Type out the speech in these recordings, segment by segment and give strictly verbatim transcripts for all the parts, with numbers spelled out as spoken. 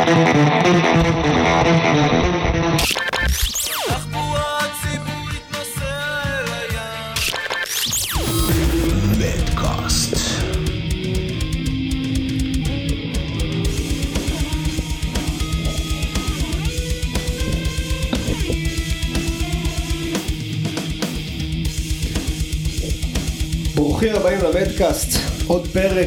ברוכים הבאים למדקאסט, עוד פרק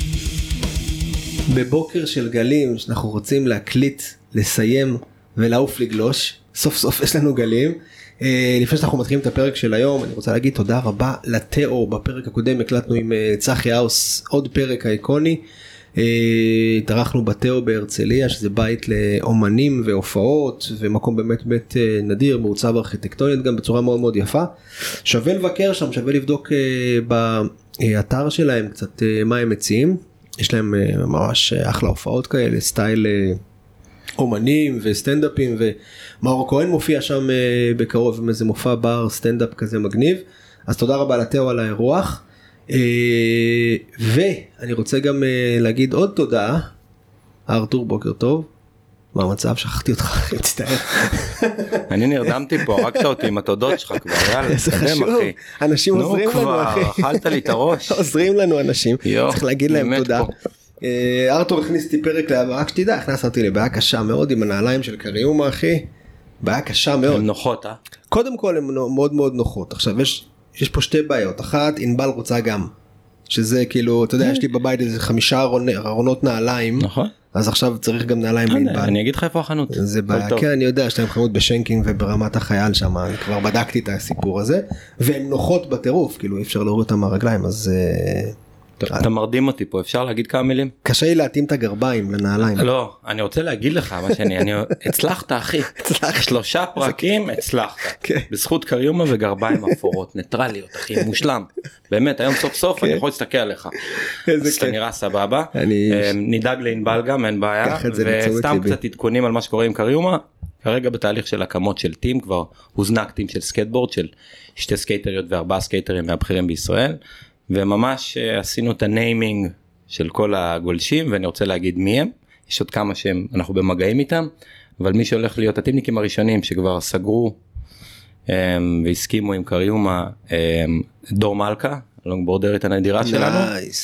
בבוקר של גלים שאנחנו רוצים להקליט, לסיים ולעוף לגלוש. סוף סוף יש לנו גלים. לפני שאנחנו מתחילים את הפרק של היום, אני רוצה להגיד תודה רבה לתאו. בפרק הקודם הקלטנו עם צחי האוס עוד פרק אייקוני. התארחנו בתאו בהרצליה, שזה בית לאומנים והופעות ומקום באמת באמת נדיר, מעוצב ארכיטקטונית גם בצורה מאוד מאוד יפה. שווה לבקר שם, שווה לבדוק באתר שלהם קצת מה הם מציעים. יש להם ממש אחלה הופעות כאלה, סטייל אומנים וסטנדאפים, ומאור כהן מופיע שם בקרוב עם איזה מופע בר סטנדאפ כזה מגניב. אז תודה רבה לתאו על האירוח. ואני רוצה גם להגיד עוד תודה. ארתור, בוקר טוב. מה המצב? שכחתי אותך, תצטער. אני נרדמתי פה, הרגת אותי עם התודות שלך כבר, יאללה. זה חשוב, אנשים עוזרים לנו, אחי. נו כבר, אכלת לי את הראש. עוזרים לנו אנשים, צריך להגיד להם תודה. ארתור הכניס אותי פרק להבא, רק שתדע, הכנס אותי לבעיה קשה מאוד עם הנעליים של קריומה, אחי. בעיה קשה מאוד. הן נוחות, אה? קודם כל הן מאוד מאוד נוחות. עכשיו יש... יש פה שתי בעיות, אחת, אינבל רוצה גם, שזה כאילו, אתה יודע, יש לי בבית איזה חמישה ארונות נעליים, נכון. אז עכשיו צריך גם נעליים לאינבל. אני אגיד לך איפה החנות. זה בעיה, כן, אני יודע, יש להם חנות בשנקינג וברמת החייל שם, אני כבר בדקתי את הסיפור הזה, והן נוחות בטירוף, כאילו אי אפשר להוריד אותם מהרגליים, אז... אתה מרדים אותי פה, אפשר להגיד כמה מילים? קשה לי להתאים את הגרביים לנעליים. לא, אני רוצה להגיד לך מה שאני, אני הצלחת אחי, שלושה פרקים הצלחת, בזכות קריומה וגרביים אפורות, ניטרליות אחי, מושלם, באמת היום סוף סוף אני יכול להסתכל עליך, אז אתה נראה סבבה, נדאג לאינבל גם, אין בעיה, וסתם קצת עדכונים על מה שקורה עם קריומה, כרגע בתהליך של הקמות של טים, כבר הוזנק טים של סקייטבורד, של שתי סקייטריות וארבעה סקייטרים מהבכירים בישראל, וממש עשינו את הניימינג של כל הגולשים, ואני רוצה להגיד מי הם, יש עוד כמה שהם, אנחנו במגעים איתם, אבל מי שהולך להיות הטימניקים הראשונים שכבר סגרו והסכימו עם קריומה, דור מלכה, הלונגבורדרית הנדירה שלנו.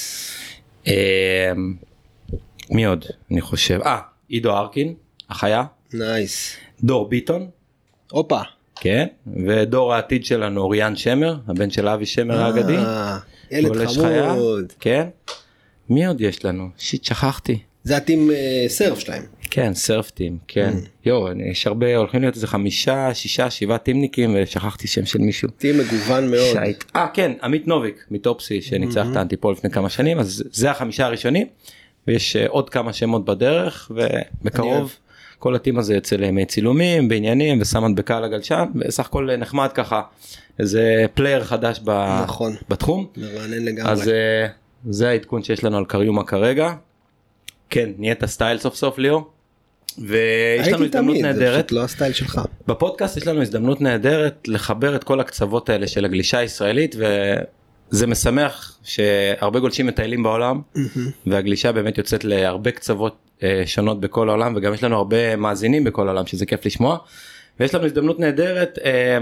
מי עוד? אני חושב, אה, עידו ארקין, החיה. נייס. דור ביטון. אופה. כן, ודור העתיד שלנו אוריאן שמר, הבן של אבי שמר האגדי. ילד חמוד. כן. מי עוד יש לנו? שיט, שכחתי. זה הטים סרף שלהם. כן, סרף טים, כן. יו, יש הרבה, הולכים להיות איזה חמישה, שישה, שבעה טימניקים, ושכחתי שם של מישהו. טים מגוון מאוד. אה, כן, עמית נוביק, מטופסי, שניצח את האנטיפול לפני כמה שנים, אז זה החמישה הראשונים, ויש עוד כמה שמות בדרך, ובקרוב כל הטים הזה יוצא לימי צילומים, בעניינים, ושם מדבקה על הגלשן, וסך הכל נחמד ככה, איזה פלייר חדש בתחום. מרענן לגמרי. אז זה העדכון שיש לנו על קריומה כרגע. כן, נהיית הסטייל סוף סוף ליאור. ויש לנו הזדמנות נהדרת. זה פשוט לא הסטייל שלך. בפודקאסט יש לנו הזדמנות נהדרת לחבר את כל הקצוות האלה של הגלישה הישראלית, וזה משמח שהרבה גולשים מטיילים בעולם, והגלישה באמת יוצאת להרבה קצוות שונות בכל העולם, וגם יש לנו הרבה מאזינים בכל העולם, שזה כיף לשמוע. ויש לנו הזדמנות נהדרת,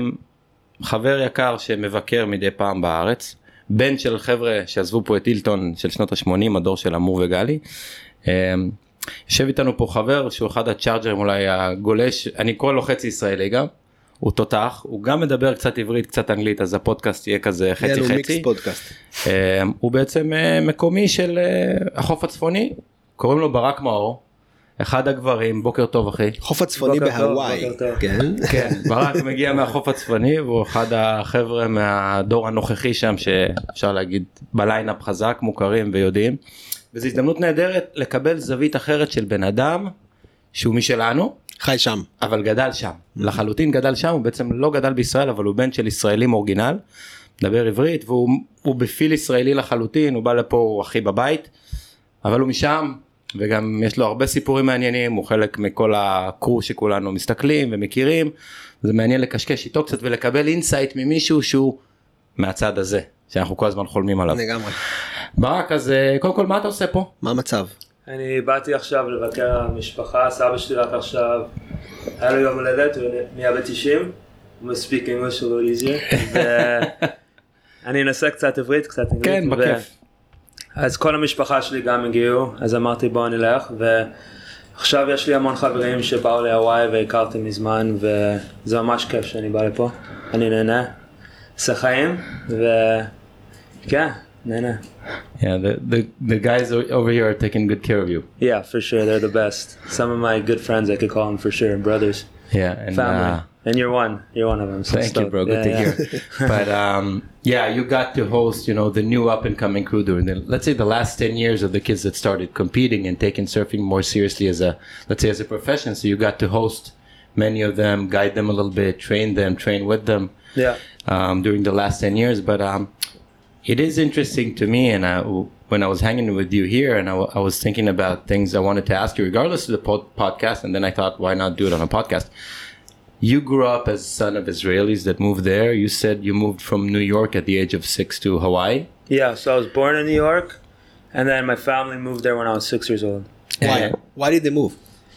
חבר יקר שמבקר מדי פעם בארץ, בן של חבר'ה שעזבו פה את הילטון של שנות ה-שמונים, הדור של אמור וגלי. יושב איתנו פה חבר שהוא אחד הצ'ארג'רים, אולי הגולש, אני קורא לו חצי ישראלי גם, הוא תותח, הוא גם מדבר קצת עברית, קצת אנגלית, אז הפודקאסט יהיה כזה חצי חצי. מיקס פודקאסט. הוא בעצם מקומי של החוף הצפוני, קוראים לו ברק מאור. אחד הגברים, בוקר טוב אחי. חוף הצפוני בהוואי. כן. כן, ברק מגיע מהחוף הצפוני, והוא אחד החבר'ה מהדור הנוכחי שם, שאפשר להגיד בליינאפ חזק, מוכרים ויודעים. וזו הזדמנות נהדרת לקבל זווית אחרת של בן אדם, שהוא משלנו. חי שם. אבל גדל שם. לחלוטין גדל שם, הוא בעצם לא גדל בישראל, אבל הוא בן של ישראלים אורגינל, מדבר עברית, והוא בפיל ישראלי לחלוטין, הוא בא לפה, הוא הכי בבית, אבל הוא משם, וגם יש לו הרבה סיפורים מעניינים, הוא חלק מכל הקרו שכולנו מסתכלים ומכירים, זה מעניין לקשקש איתו קצת ולקבל אינסייט ממישהו שהוא מהצד הזה, שאנחנו כל הזמן חולמים עליו. לגמרי. ברק, אז קודם כל מה אתה עושה פה? מה המצב? אני באתי עכשיו לבקר המשפחה, סבא שלי רק עכשיו, היה לו יום הולדת, הוא נהיה ב-תשעים, הוא מספיק English a little easier, ואני אנסה קצת עברית, קצת אנגלית. כן, בכיף. אז כל המשפחה שלי גם הגיעו, אז אמרתי בואו נלך, ועכשיו יש לי המון חברים שבאו להוואי והכרתי מזמן, וזה ממש כיף שאני בא לפה, אני נהנה, עושה חיים, וכן. No, no. Yeah, the, the the guys over here are taking good care of you. Yeah, for sure, they're the best. Some of my good friends, I could call them for sure, brothers. Yeah, and family. Uh, and you're one. You're one of them. So thank stoked. you, bro. Good yeah, to yeah. hear. But um, yeah, you got to host, you know, the new up and coming crew during the, let's say, the last ten years of the kids that started competing and taking surfing more seriously as a, let's say, as a profession. So you got to host many of them, guide them a little bit, train them, train with them. Yeah. Um, during the last ten years, but um. It is interesting to me, and I, when I was hanging with you here, and I, I was thinking about things I wanted to ask you, regardless of the pod, podcast, and then I thought, why not do it on a podcast? You grew up as son of Israelis that moved there. You said you moved from New York at the age of six to Hawaii. Yeah, so I was born in New York, and then my family moved there when I was six years old. Why? Why did they move?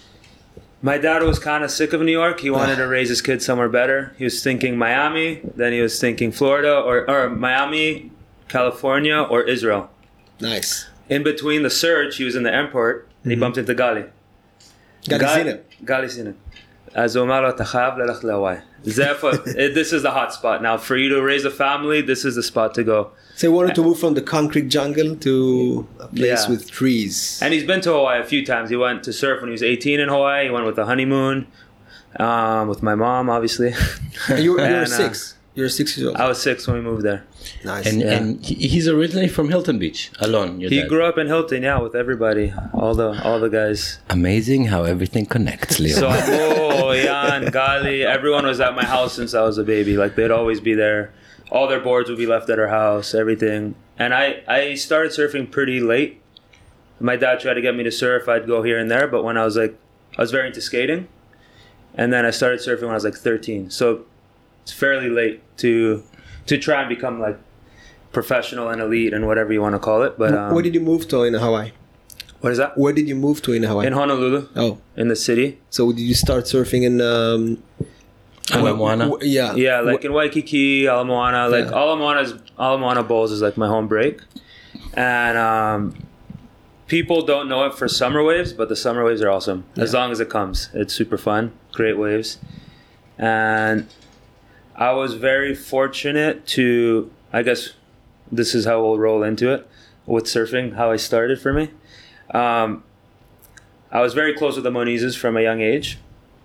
My dad was kind of sick of New York. He wanted to raise his kids somewhere better. He was thinking Miami, then he was thinking Florida, or, or Miami, California, or Israel. Nice. In between the search, he was in the airport, and mm-hmm. he bumped into Gali. Gali Sinem. Gali Sinem. אז הוא אמר לו, אתה חייב ללכת להוואי. This is the hot spot. Now, for you to raise a family, this is the spot to go. So he wanted to move from the concrete jungle to a place yeah. with trees. And he's been to Hawaii a few times. He went to surf when he was eighteen in Hawaii. He went with a honeymoon, um, with my mom, obviously. And you, you and, were six. Uh, you were six years old. I was six when we moved there. Nice. And, yeah. and he, he's originally from Hilton Beach, alone. He dad. grew up in Hilton, yeah, with everybody, all the all the guys. Amazing how everything connects, Leo. So, oh, Jan, Gali, everyone was at my house since I was a baby. Like, they'd always be there. All their boards would be left at our house, everything. And I, I started surfing pretty late. My dad tried to get me to surf. I'd go here and there. But when I was like, I was very into skating. And then I started surfing when I was like thirteen. So it's fairly late to to try and become like professional and elite and whatever you want to call it. But um, where did you move to in Hawaii? What is that? Where did you move to in Hawaii? In Honolulu. Oh, in the city. So did you start surfing in um, Ala Moana? Yeah, yeah, like in Waikiki, Ala Moana. Like yeah. Ala Moana's Ala Moana Bowls is like my home break, and um, people don't know it for summer waves, but the summer waves are awesome. Yeah. As long as it comes, it's super fun, great waves, and I was very fortunate to, I guess, this is how we'll roll into it with surfing. How I started for me, um, I was very close with the Monizes from a young age.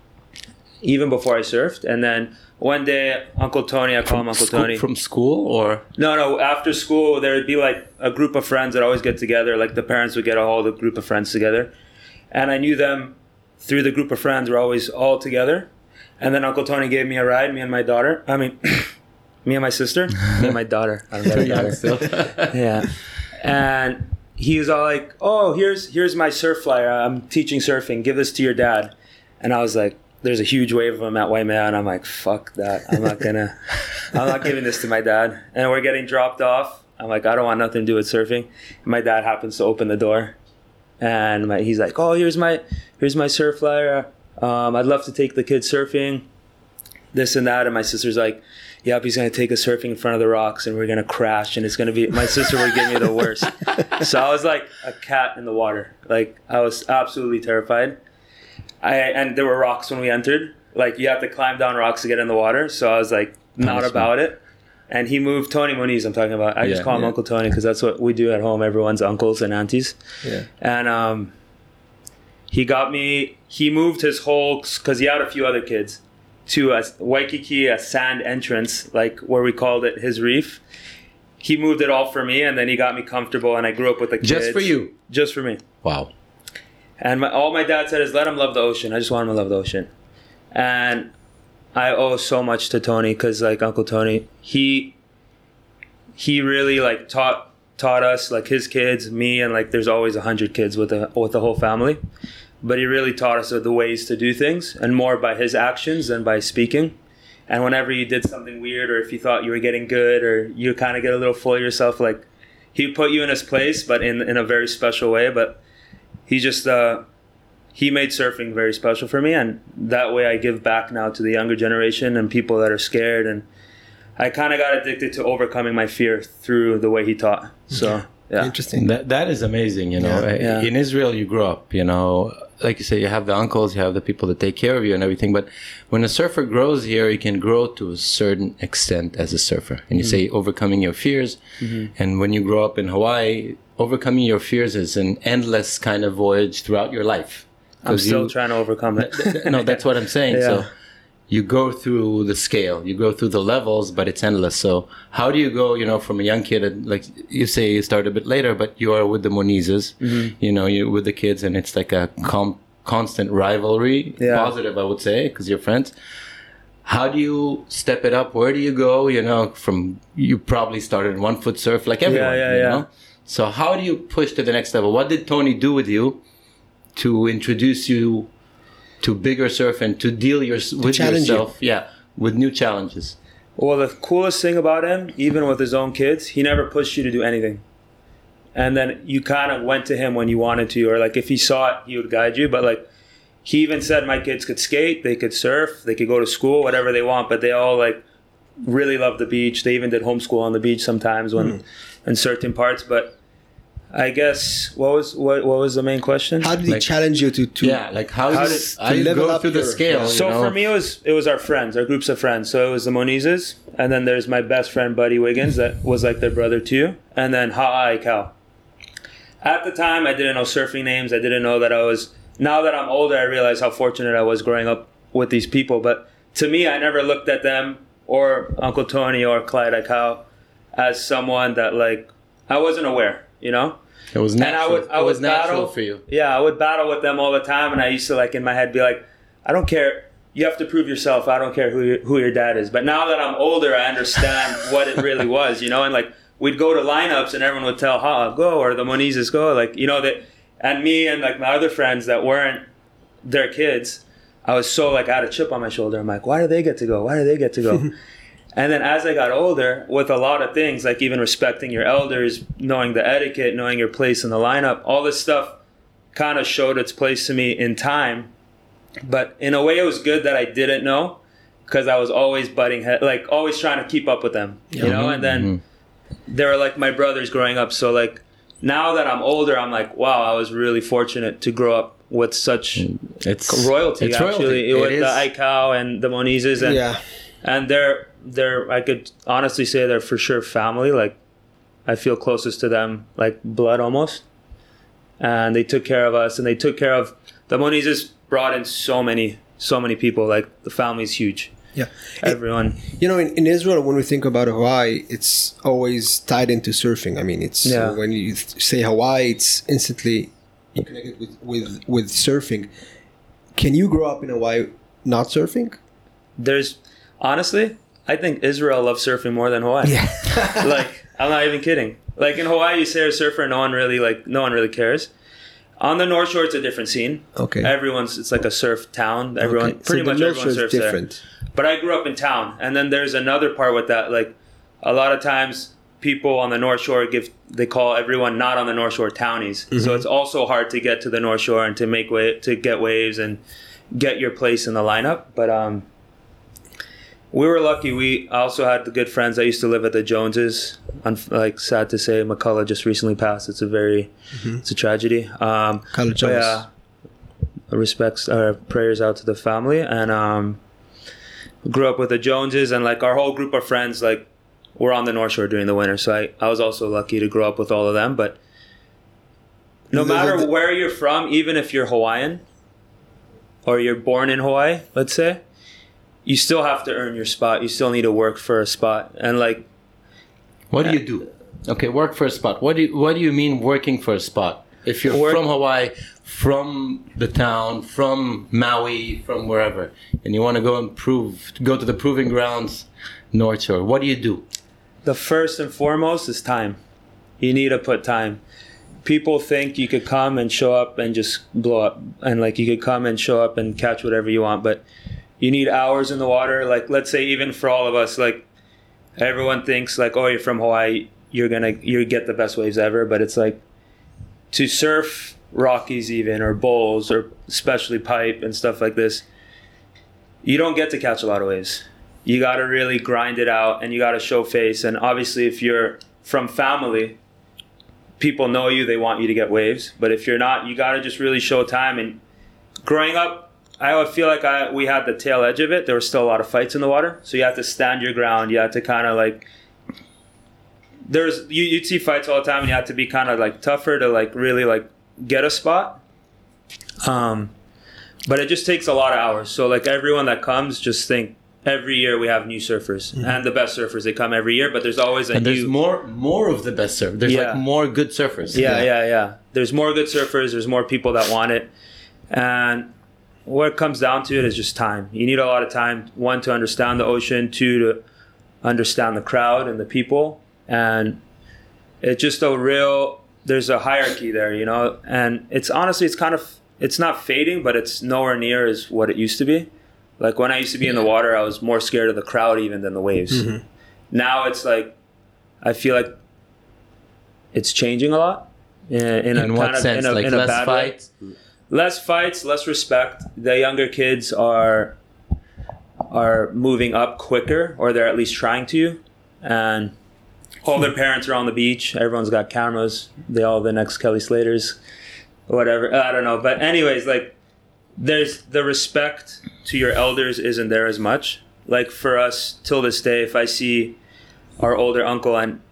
Even before I surfed, and then one day Uncle Tony, I call from him Uncle school, Tony. From school or? No, no, after school there would be like a group of friends that always get together, like the parents would get a whole group of friends together. And I knew them through the group of friends, we're always all together. And then Uncle Tony gave me a ride, me and my daughter. I mean, me and my sister, me and my daughter. I don't got a daughter. Still. Yeah. And he was all like, oh, here's here's my surf flyer. I'm teaching surfing. Give this to your dad. And I was like, there's a huge wave of them at Waimea, and I'm like, fuck that. I'm not gonna, I'm not giving this to my dad. And we're getting dropped off. I'm like, I don't want nothing to do with surfing. And my dad happens to open the door, and my, he's like, oh, here's my, here's my surf flyer. Um, I'd love to take the kids surfing, this and that. And my sister's like, yep, he's gonna take us surfing in front of the rocks, and we're gonna crash, and it's gonna be. My sister would give me the worst. So I was like a cat in the water. Like I was absolutely terrified. I, and there were rocks when we entered. Like, you have to climb down rocks to get in the water. So I was like, not that's about it. And he moved, Tony Moniz I'm talking about. I yeah, just call him yeah. Uncle Tony because that's what we do at home. Everyone's uncles and aunties. Yeah. And um, he got me, he moved his whole, because he had a few other kids, to a Waikiki, a sand entrance, like where we called it his reef. He moved it all for me, and then he got me comfortable, and I grew up with the kids. Just for you? Just for me. Wow. And my, all my dad said is, let him love the ocean. I just want him to love the ocean. And I owe so much to Tony because, like, Uncle Tony, he he really, like, taught taught us, like, his kids, me, and, like, there's always a hundred kids with the, with the whole family. But he really taught us the ways to do things, and more by his actions than by speaking. And whenever you did something weird, or if you thought you were getting good, or you kind of get a little full of yourself, like, he put you in his place, but in, in a very special way. But he just uh, he made surfing very special for me, and that way I give back now to the younger generation and people that are scared. And I kind of got addicted to overcoming my fear through the way he taught. So yeah, interesting. That that is amazing. You know, Yeah. Yeah. in Israel you grew up. You know, like you say, you have the uncles, you have the people that take care of you and everything. But when a surfer grows here, you can grow to a certain extent as a surfer. And you mm-hmm. say overcoming your fears. Mm-hmm. And when you grow up in Hawaii, overcoming your fears is an endless kind of voyage throughout your life. I'm still you, trying to overcome it. No, that's what I'm saying. Yeah. So you go through the scale, you go through the levels, but it's endless. So how do you go, you know, from a young kid, like you say you started a bit later, but you are with the Monizes, mm-hmm. you know, you with the kids, and it's like a com- constant rivalry, yeah. positive, I would say, because you're friends. How do you step it up? Where do you go? You know, from, you probably started one foot surf like everyone, yeah, yeah, you yeah. know? So how do you push to the next level? What did Tony do with you to introduce you to bigger surf and to deal your, with yourself, you. yeah, with new challenges? Well, the coolest thing about him, even with his own kids, he never pushed you to do anything. And then you kind of went to him when you wanted to, or like if he saw it, he would guide you. But like he even said my kids could skate, they could surf, they could go to school, whatever they want. But they all like really love the beach. They even did homeschool on the beach sometimes when mm. in certain parts. But I guess what was what what was the main question? How did he like, challenge you to, to yeah like how, how did how you level go up through the your, scale? Yeah. So you know? for me, it was it was our friends, our groups of friends. So it was the Monizes, and then there's my best friend Buddy Wiggins that was like their brother too, and then Ha'a Cal. At the time, I didn't know surfing names. I didn't know that I was. Now that I'm older, I realize how fortunate I was growing up with these people. But to me, I never looked at them or Uncle Tony or Clyde Aikau as someone that like I wasn't aware, you know. It was natural. And I would, I it was would natural battle, for you. Yeah, I would battle with them all the time, and I used to like in my head be like, I don't care. You have to prove yourself. I don't care who your, who your dad is. But now that I'm older, I understand what it really was, you know. And like we'd go to lineups, and everyone would tell Ha go or the Monizes go, like you know that. And me and like my other friends that weren't their kids, I was so like I had a chip on my shoulder. I'm like, why do they get to go? Why do they get to go? And then as I got older, with a lot of things, like even respecting your elders, knowing the etiquette, knowing your place in the lineup, all this stuff kind of showed its place to me in time. But in a way, it was good that I didn't know because I was always butting head, like always trying to keep up with them, you know? And then mm-hmm. they were like my brothers growing up. So like now that I'm older, I'm like, wow, I was really fortunate to grow up with such it's, royalty, it's actually, royalty. with it the is. Aikau and the Monizes. And, yeah. and they're, they're, I could honestly say they're for sure family. Like, I feel closest to them, like blood almost. And they took care of us, and they took care of the Monizes. Brought in so many, so many people. Like the family's huge. Yeah, everyone. It, you know, in, in Israel, when we think about Hawaii, it's always tied into surfing. I mean, it's yeah. when you say Hawaii, it's instantly connected with, with with surfing. Can you grow up in Hawaii not surfing? There's honestly, I think Israel loves surfing more than Hawaii. Yeah. Like I'm not even kidding. Like in Hawaii, you say a surfer, no one really like, no one really cares. On the North Shore, it's a different scene. Okay. Everyone's, it's like a surf town. Everyone, okay. pretty so much the everyone surfs different. there. But I grew up in town. And then there's another part with that. Like a lot of times people on the North Shore give, they call everyone not on the North Shore townies. Mm-hmm. So it's also hard to get to the North Shore and to make way, to get waves and get your place in the lineup. But um, we were lucky. We also had the good friends. I used to live at the Joneses. I'm like sad to say, McCullough just recently passed. It's a very, mm-hmm. it's a tragedy. Um, College Jones. Yeah, respects, uh, prayers out to the family. And um, grew up with the Joneses, and like our whole group of friends, like we're on the North Shore during the winter. So I, I was also lucky to grow up with all of them. But no matter where you're from, even if you're Hawaiian or you're born in Hawaii, let's say, you still have to earn your spot. You still need to work for a spot. And like, what do you do? Okay, work for a spot. What do you, what do you mean working for a spot? If you're work, from Hawaii, from the town, from Maui, from wherever, and you want to go and prove, go to the proving grounds, North Shore, what do you do? The first and foremost is time. You need to put time. People think you could come and show up and just blow up. And like you could come and show up and catch whatever you want. But you need hours in the water. Like, let's say even for all of us, like everyone thinks like, oh, you're from Hawaii, you're going to, you get the best waves ever. But it's like to surf Rockies even, or bowls, or especially pipe and stuff like this, you don't get to catch a lot of waves. You got to really grind it out, and you got to show face. And obviously, if you're from family, people know you, they want you to get waves. But if you're not, you got to just really show time. And growing up, I feel like I we had the tail edge of it. There were still a lot of fights in the water, so you had to stand your ground. You had to kind of like, there's you, you'd see fights all the time, and you had to be kind of like tougher to like really like get a spot. Um, but it just takes a lot of hours. So like everyone that comes, just think every year we have new surfers, mm-hmm. and the best surfers, they come every year. But there's always a and there's new, more more of the best surfers. There's yeah. like more good surfers. Yeah, yeah, yeah, yeah. There's more good surfers. There's more people that want it, and what it comes down to it is just time. You need a lot of time. One, to understand the ocean. Two, to understand the crowd and the people. And it's just a real, there's a hierarchy there, you know. And it's honestly, it's kind of, it's not fading, but it's nowhere near as what it used to be. Like when I used to be in the water, I was more scared of the crowd even than the waves. Mm-hmm. Now it's like, I feel like it's changing a lot. In, in, in a what kind of, sense? in a, like in a less bad fights? Way. Less fights, less respect. The younger kids are are moving up quicker, or they're at least trying to. And all their parents are on the beach. Everyone's got cameras. They all the next Kelly Slaters, whatever. I don't know. But anyways, like there's the respect to your elders isn't there as much. Like for us till this day, if I see our older uncle and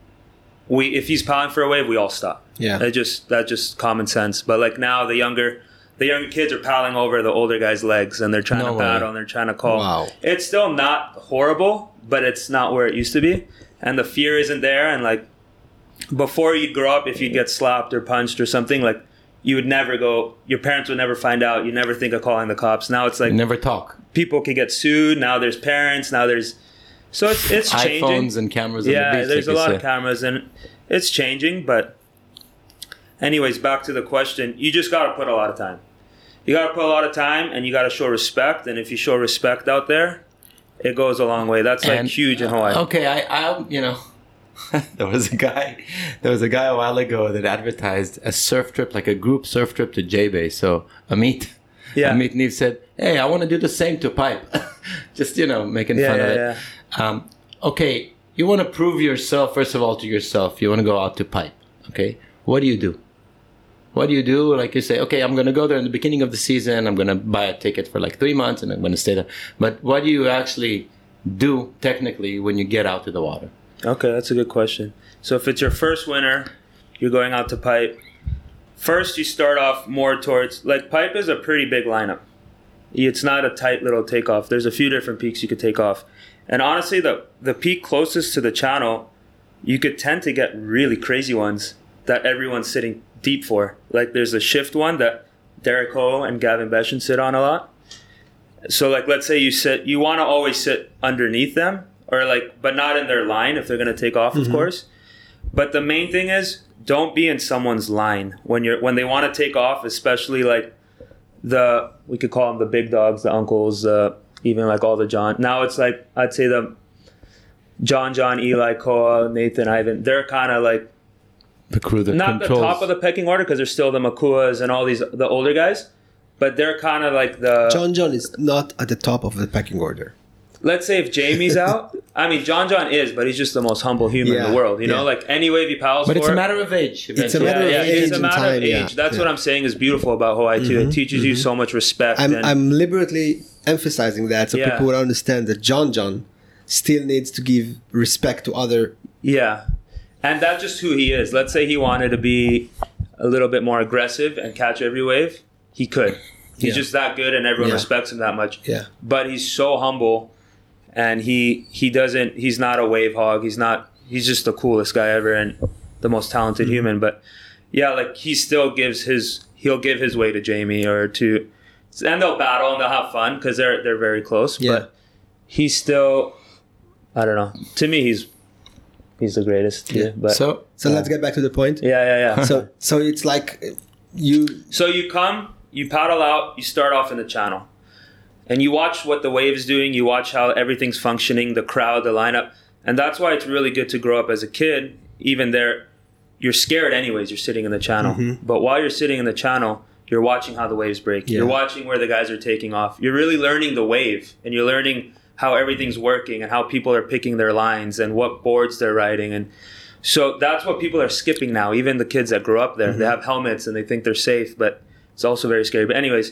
we if he's piling for a wave, we all stop. Yeah. That just that's just common sense. But like now the younger the younger kids are piling over the older guys' legs, and they're trying no to way. battle and they're trying to call. Wow. It's still not horrible, but it's not where it used to be. And the fear isn't there. And like before you'd grow up, if you'd get slapped or punched or something, like you would never go, your parents would never find out. You never think of calling the cops. Now it's like You never talk. people could get sued. Now there's parents. Now there's so it's it's changing. iPhones and cameras. Yeah, on the beach, there's like a lot say. of cameras, and it's changing. But anyways, back to the question. You just got to put a lot of time. You got to put a lot of time, and you got to show respect. And if you show respect out there, it goes a long way. That's like And, huge in Hawaii. Okay, I, I, you know, there was a guy, there was a guy a while ago that advertised a surf trip, like a group surf trip to J-Bay. So Amit, Yeah. Amit Neve said, "Hey, I want to do the same to Pipe," just you know, making Yeah, fun yeah, of it. yeah. Um, okay, you want to prove yourself first of all to yourself. You want to go out to Pipe. Okay, what do you do? What do you do? Like you say, okay, I'm going to go there in the beginning of the season. I'm going to buy a ticket for like three months and I'm going to stay there. But what do you actually do technically when you get out to the water? Okay, that's a good question. So if it's your first winter, you're going out to Pipe. First, you start off more towards, like Pipe is a pretty big lineup. It's not a tight little takeoff. There's a few different peaks you could take off. And honestly, the, the peak closest to the channel, you could tend to get really crazy ones that everyone's sitting deep for. Like there's a shift one that Derek Ho and Gavin Beshen sit on a lot. So like let's say you sit, you want to always sit underneath them, or like, but not in their line if they're going to take off, mm-hmm. of course. But the main thing is don't be in someone's line when you're when they want to take off, especially like the we could call them the big dogs, the uncles, uh, even like all the John. Now it's like I'd say the John, John, Eli, Koa, Nathan, Ivan. They're kind of like the crew that not controls. the top of the pecking order because there's still the Makuas and all these the older guys, but they're kind of like the John John is not at the top of the pecking order. Let's say if Jamie's out, I mean John John is, but he's just the most humble human yeah, in the world. You yeah. know, like any wave he paddles but for. it's a matter of age. It's a matter yeah, of yeah, age it's a and matter time. of age. Yeah, That's yeah. what I'm saying is beautiful about Hawaii too. Mm-hmm, it teaches mm-hmm. you so much respect. I'm, and, I'm deliberately emphasizing that so Yeah. people would understand that John John still needs to give respect to other. Yeah, and that's just who he is. Let's say he wanted to be a little bit more aggressive and catch every wave, he could. He's Yeah. just that good, and everyone Yeah. respects him that much. Yeah. But he's so humble, and he he doesn't. He's not a wave hog. He's not. He's just the coolest guy ever and the most talented Mm-hmm. human. But yeah, like he still gives his. He'll give his way to Jamie or to, and they'll battle and they'll have fun because they're they're very close. Yeah. But he's still. I don't know. To me, he's he's the greatest. Yeah. Yeah. But So So let's get back to the point. yeah, yeah, yeah. So so it's like you So you come, you paddle out, you start off in the channel. And you watch what the wave is doing, you watch how everything's functioning, the crowd, the lineup. And that's why it's really good to grow up as a kid, even there. you're scared anyways. You're sitting in the channel, mm-hmm. but while you're sitting in the channel, you're watching how the waves break. Yeah. You're watching where the guys are taking off. You're really learning the wave, and you're learning how everything's working and how people are picking their lines and what boards they're riding. And so that's what people are skipping now. Even the kids that grew up there, mm-hmm. they have helmets and they think they're safe, but it's also very scary. But anyways,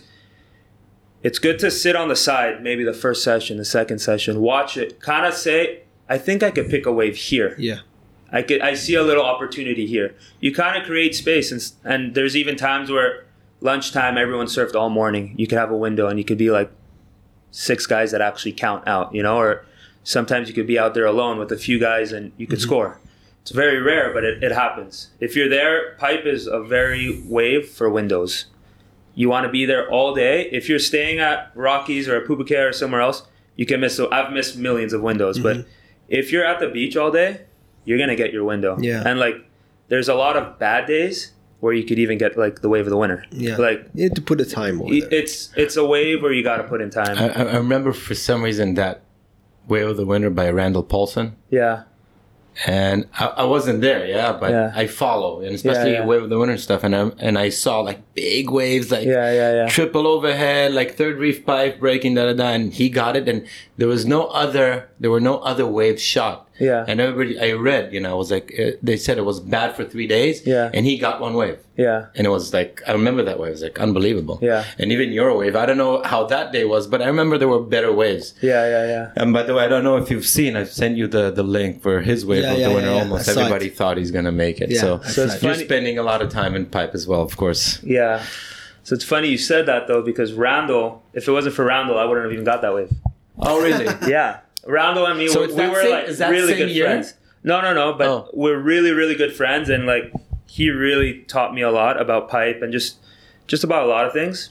it's good to sit on the side, maybe the first session, the second session, watch it, kind of say, I think I could pick a wave here. Yeah. I could. I see a little opportunity here. You kind of create space, and and there's even times where lunchtime, everyone surfed all morning. You could have a window and you could be like six guys that actually count out, you know, or sometimes you could be out there alone with a few guys and you could mm-hmm. score. It's very rare, but it, it happens. If you're there, pipe is a very wave for windows. You want to be there all day. If you're staying at Rockies or at Pupukea or somewhere else, you can miss. So I've missed millions of windows, mm-hmm. but if you're at the beach all day, you're going to get your window. Yeah. And like, there's a lot of bad days where you could even get like the wave of the winter. Yeah, like you have to put a time on it. It's it's a wave where you got to put in time. I, I remember for some reason that Wave of the Winter by Randall Paulson. Yeah. And I, I wasn't there, yeah, but yeah. I follow, and especially yeah, yeah. Wave of the Winter stuff, and I and I saw like big waves, like yeah, yeah, yeah. triple overhead, like third reef pipe breaking, da da da, and he got it, and there was no other, there were no other waves shot. Yeah. And everybody, I read, you know, I was like, uh, they said it was bad for three days. Yeah. And he got one wave. Yeah. And it was like, I remember that wave. It was like unbelievable. Yeah. And even your wave, I don't know how that day was, but I remember there were better waves. Yeah, yeah, yeah. And by the way, I don't know if you've seen, I've sent you the, the link for his wave yeah, of yeah, the winter. Yeah, yeah. Almost everybody it. thought he's going to make it. Yeah, so so it's you're funny. spending a lot of time in pipe as well, of course. Yeah. So it's funny you said that though, because Randall, if it wasn't for Randall, I wouldn't have even got that wave. Oh, really? Yeah. Randall and me, so we, we were same, like really good year? friends. No, no, no. But oh. we're really, really good friends, and like he really taught me a lot about pipe and just, just about a lot of things.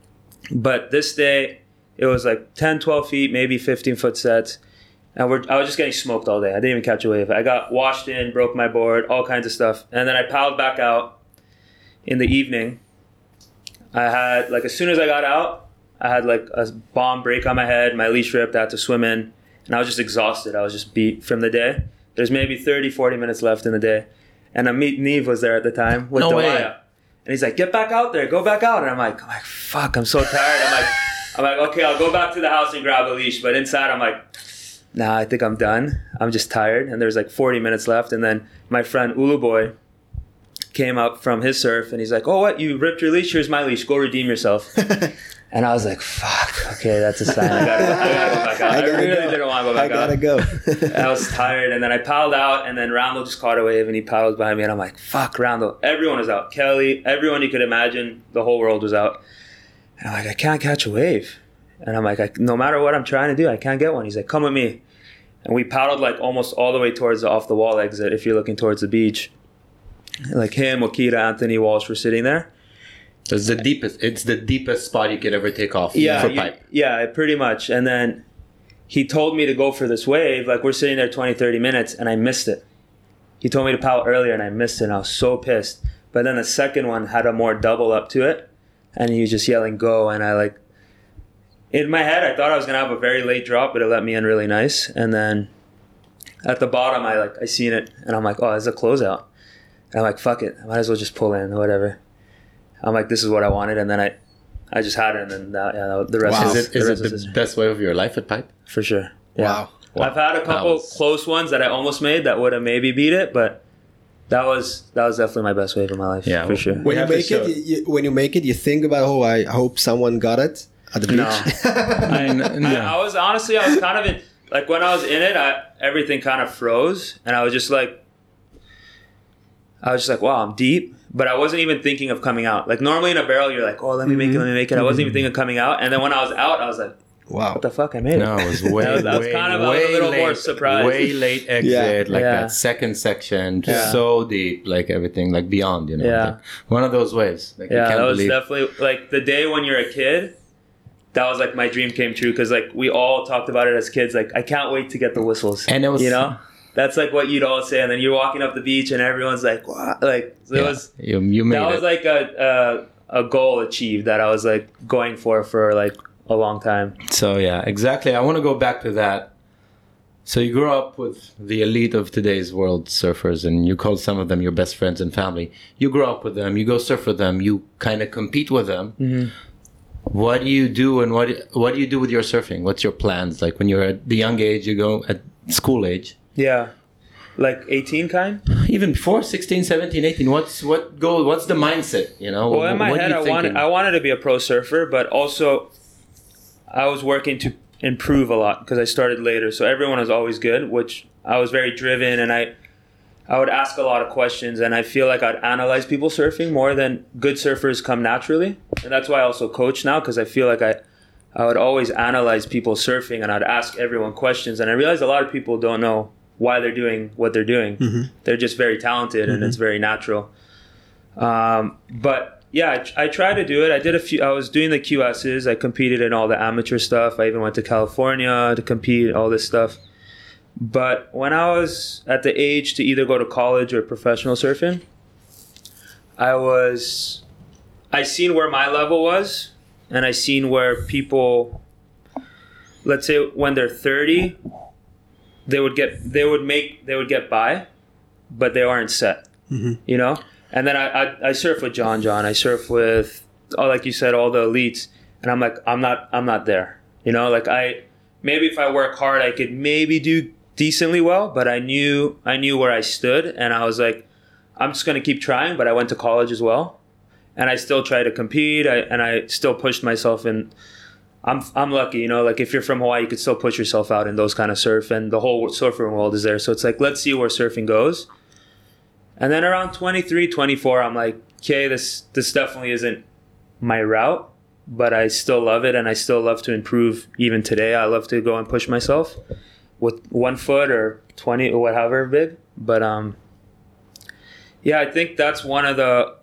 But this day, it was like ten, twelve feet, maybe fifteen foot sets, and we're I was just getting smoked all day. I didn't even catch a wave. I got washed in, broke my board, all kinds of stuff, and then I paddled back out in the evening. I had like as soon as I got out, I had like a bomb break on my head. My leash ripped. I had to swim in, and I was just exhausted. I was just beat from the day. There's maybe thirty, forty minutes left in the day. And Amit Neve was there at the time with no Dewaya. And he's like, get back out there, go back out. And I'm like, I'm like, fuck, I'm so tired. I'm like, I'm like, okay, I'll go back to the house and grab a leash. But inside I'm like, nah, I think I'm done. I'm just tired. And there's like forty minutes left. And then my friend Ulu Boy came up from his surf and he's like, oh, what? You ripped your leash? Here's my leash. Go redeem yourself. And I was like, fuck, okay, that's a sign. I gotta, I gotta go back out. I, I really go. didn't want to go back I gotta out. go. I was tired. And then I paddled out, and then Randall just caught a wave, and he paddled behind me. And I'm like, fuck, Randall. Everyone was out. Kelly, everyone you could imagine, the whole world was out. And I'm like, I can't catch a wave. And I'm like, I, no matter what I'm trying to do, I can't get one. He's like, come with me. And we paddled like almost all the way towards the off the wall exit if you're looking towards the beach. Like him, Okita, Anthony, Walsh were sitting there. So it's the deepest. It's the deepest spot you could ever take off. Yeah, for you, pipe. Yeah, pretty much. And then he told me to go for this wave. Like we're sitting there twenty, thirty minutes, and I missed it. He told me to paddle earlier, and I missed it. And I was so pissed. But then the second one had a more double up to it, and he was just yelling "go!" And I like in my head, I thought I was gonna have a very late drop, but it let me in really nice. And then at the bottom, I like I seen it, and I'm like, oh, it's a closeout. And I'm like, fuck it, I might as well just pull in or whatever. I'm like, this is what I wanted, and then I, I just had it, and then that, yeah, the rest wow. is it. Is it the history. Best wave of your life at pipe? For sure. Yeah. Wow. wow. I've had a couple was... close ones that I almost made that would have maybe beat it, but that was that was definitely my best wave of my life. Yeah, for sure. When you make it, you, you, when you make it, you think about, oh, I hope someone got it at the beach. No, I, no. I, I was honestly, I was kind of in like when I was in it, I, everything kind of froze, and I was just like, I was just like, wow, I'm deep. But I wasn't even thinking of coming out. Like normally in a barrel, you're like, oh, let me make it, let me make it. I wasn't even thinking of coming out. And then when I was out, I was like, wow, what the fuck, I made it. No, it was way, I was, I was way, kind of way a little late, more surprised. Way late exit, yeah. like yeah. that second section, yeah. so deep, like everything, like beyond, you know. Yeah. Like one of those waves. Like yeah, you can't that was believe. definitely, like the day when you're a kid, that was like my dream came true. Because like we all talked about it as kids. Like, I can't wait to get the whistles. And it was, you know? That's like what you'd all say, and then you're walking up the beach, and everyone's like, "What?" Like so it yeah, was. You, you made that it. was like a, a a goal achieved that I was like going for for like a long time. So yeah, exactly. I want to go back to that So you grew up with the elite of today's world surfers, and you call some of them your best friends and family. You grew up with them. You go surf with them. You kind of compete with them. Mm-hmm. What do you do, and what what do you do with your surfing? What's your plans? Like when you're at the young age, you go at school age. Yeah, like eighteen kind. Even before sixteen, seventeen, eighteen. What's what go? What's the mindset? You know. Well, in my what head, I wanted I wanted to be a pro surfer, but also I was working to improve a lot because I started later. So everyone was always good, which I was very driven, and I I would ask a lot of questions, and I feel like I'd analyze people surfing more than good surfers come naturally. And that's why I also coach now, because I feel like I I would always analyze people surfing, and I'd ask everyone questions. And I realized a lot of people don't know why they're doing what they're doing. Mm-hmm. They're just very talented, mm-hmm. and it's very natural. Um, but yeah, I, I tried to do it. I did a few. I was doing the Q S's. I competed in all the amateur stuff. I even went to California to compete, all this stuff. But when I was at the age to either go to college or professional surfing, I was, I seen where my level was, and I seen where people, let's say when they're thirty, they would get, they would make, they would get by, but they aren't set, mm-hmm. you know? And then I, I, I surf with John John. I surf with, oh, like you said, all the elites, and I'm like, I'm not, I'm not there, you know? Like I, maybe if I work hard, I could maybe do decently well, but I knew I knew where I stood, and I was like, I'm just going to keep trying. But I went to college as well, and I still try to compete, I, and I still pushed myself. And I'm I'm lucky, you know, like if you're from Hawaii, you could still push yourself out in those kind of surf, and the whole surfing world is there. So it's like, let's see where surfing goes. And then around twenty-three, twenty-four, I'm like, okay, this this definitely isn't my route, but I still love it, and I still love to improve. Even today, I love to go and push myself with one foot or twenty or whatever big. But um, yeah, I think that's one of the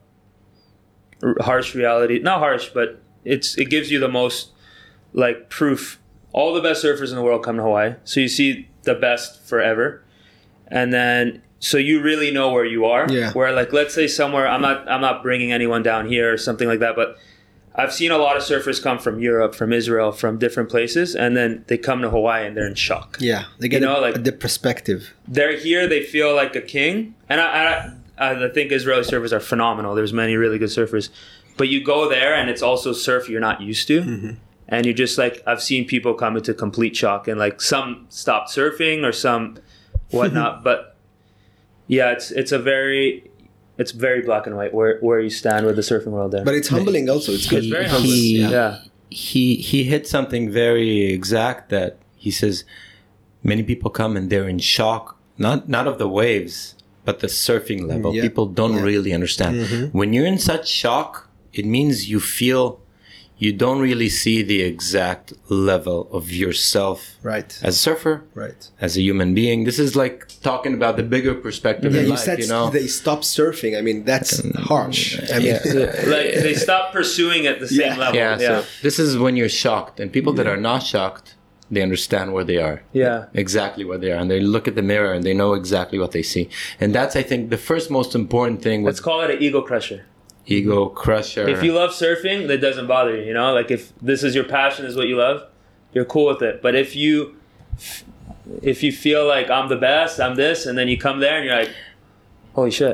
harsh reality. Not harsh, but it's it gives you the most like proof. All the best surfers in the world come to Hawaii, so you see the best forever, and then so you really know where you are. Yeah. Where like let's say somewhere, I'm not I'm not bringing anyone down here or something like that, but I've seen a lot of surfers come from Europe, from Israel, from different places, and then they come to Hawaii and they're in shock. Yeah, they get you know, a, like, a the perspective. They're here, they feel like a king, and I, I, I think Israeli surfers are phenomenal. There's many really good surfers, but you go there and it's also surf you're not used to, mm-hmm. and you just like I've seen people come into complete shock, and like some stopped surfing or some whatnot, but yeah, it's it's a very It's very black and white where where you stand with the surfing world there. But it's humbling also. It's good. It's very humbling. He, yeah. yeah. He he hit something very exact that he says many people come and they're in shock, not not of the waves, but the surfing level. Yeah. People don't yeah. really understand. Mm-hmm. When you're in such shock, it means you feel you don't really see the exact level of yourself right. as a surfer, right. as a human being. This is like talking about the bigger perspective yeah, in you life, said you know? They stop surfing. I mean, that's harsh. I mean, yeah. like they stop pursuing at the same yeah. level. Yeah, yeah. so this is when you're shocked, and people yeah. that are not shocked, they understand where they are. Yeah. Exactly where they are. And they look at the mirror and they know exactly what they see. And that's, I think, the first most important thing. Let's call it an ego crusher. Ego crusher. If you love surfing, that doesn't bother you, you know? Like if this is your passion, is what you love, you're cool with it. But if you if you feel like I'm the best, I'm this, and then you come there and you're like, holy shit.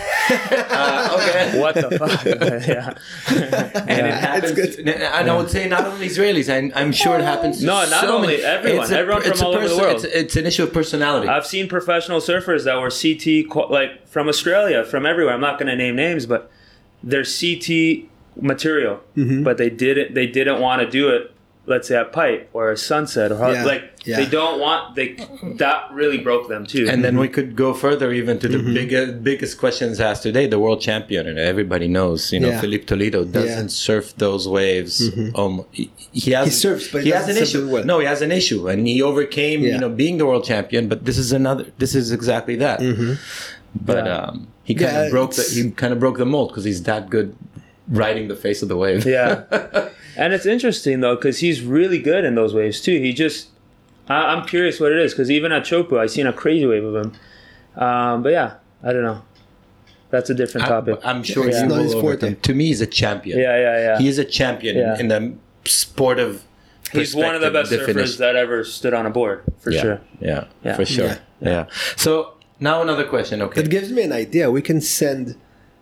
uh, okay. What the fuck? yeah. And it happens. And I would say not only Israelis. I'm, I'm sure it happens to No, not so only many, everyone. A, everyone from all person, over the world. It's, it's an issue of personality. I've seen professional surfers that were C T, like from Australia, from everywhere. I'm not going to name names, but they're C T material, mm-hmm. but they didn't. They didn't want to do it. Let's say at Pipe or a Sunset or yeah. like yeah. they don't want they that really broke them too. And mm-hmm. then we could go further even to the mm-hmm. biggest biggest questions asked today. The world champion, and everybody knows, you know, yeah. Philippe Toledo doesn't yeah. surf those waves. Mm-hmm. Um, he, he has he surfs, but he, he has an issue. Well. No, he has an issue, and he overcame, yeah. you know, being the world champion. But this is another. This is exactly that. Mm-hmm. But yeah. um, he kind of yeah, broke the he kind of broke the mold because he's that good riding the face of the wave. Yeah. And it's interesting, though, because he's really good in those waves, too. He just... I, I'm curious what it is, because even at Chopu, I seen a crazy wave of him. Um, but yeah, I don't know. That's a different topic. I, I'm sure yeah. he will overcome. To me, he's a champion. Yeah, yeah, yeah. He is a champion yeah. in the sport of he's one of the best surfers that ever stood on a board, for yeah. sure. Yeah, yeah, for sure. Yeah. yeah. So now another question. Okay, that gives me an idea. We can send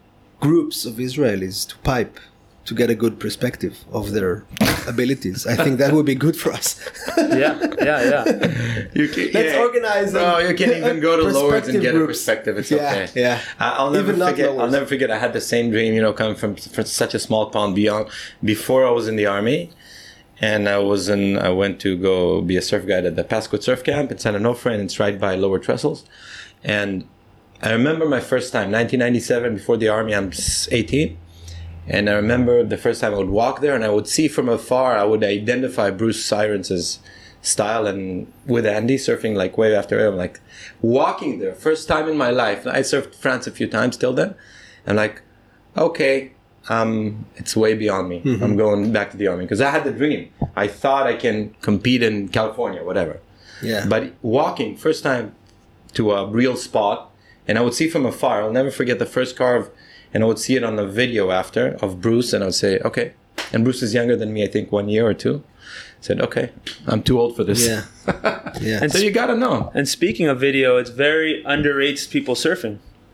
groups of Israelis to pipe to get a good perspective of their abilities. I think that would be good for us. yeah, yeah, yeah. You can, Let's yeah. organize. No, you can even go to Lourdes and get groups. a perspective. It's yeah, okay. Yeah, I'll never even forget. I'll never forget. I had the same dream. You know, coming from, from such a small pond beyond. Before I was in the army, and I was in. I went to go be a surf guide at the Pasquot Surf Camp in San Onofre, and it's right by Lower Trestles. And I remember my first time, nineteen ninety-seven, before the army. I'm eighteen. And I remember the first time I would walk there and I would see from afar, I would identify Bruce Sirens's style and with Andy surfing like wave after wave. I'm like walking there, first time in my life. I surfed France a few times till then. I'm like, okay, um, it's way beyond me. Mm-hmm. I'm going back to the army because I had the dream. I thought I can compete in California, whatever. Yeah. But walking, first time to a real spot, and I would see from afar. I'll never forget the first carve. And I would see it on the video after of Bruce, and I would say, okay. And Bruce is younger than me, I think, one year or two. I said, okay, I'm too old for this. Yeah. yeah. And so you got to know. And speaking of video, it's very underrates people surfing,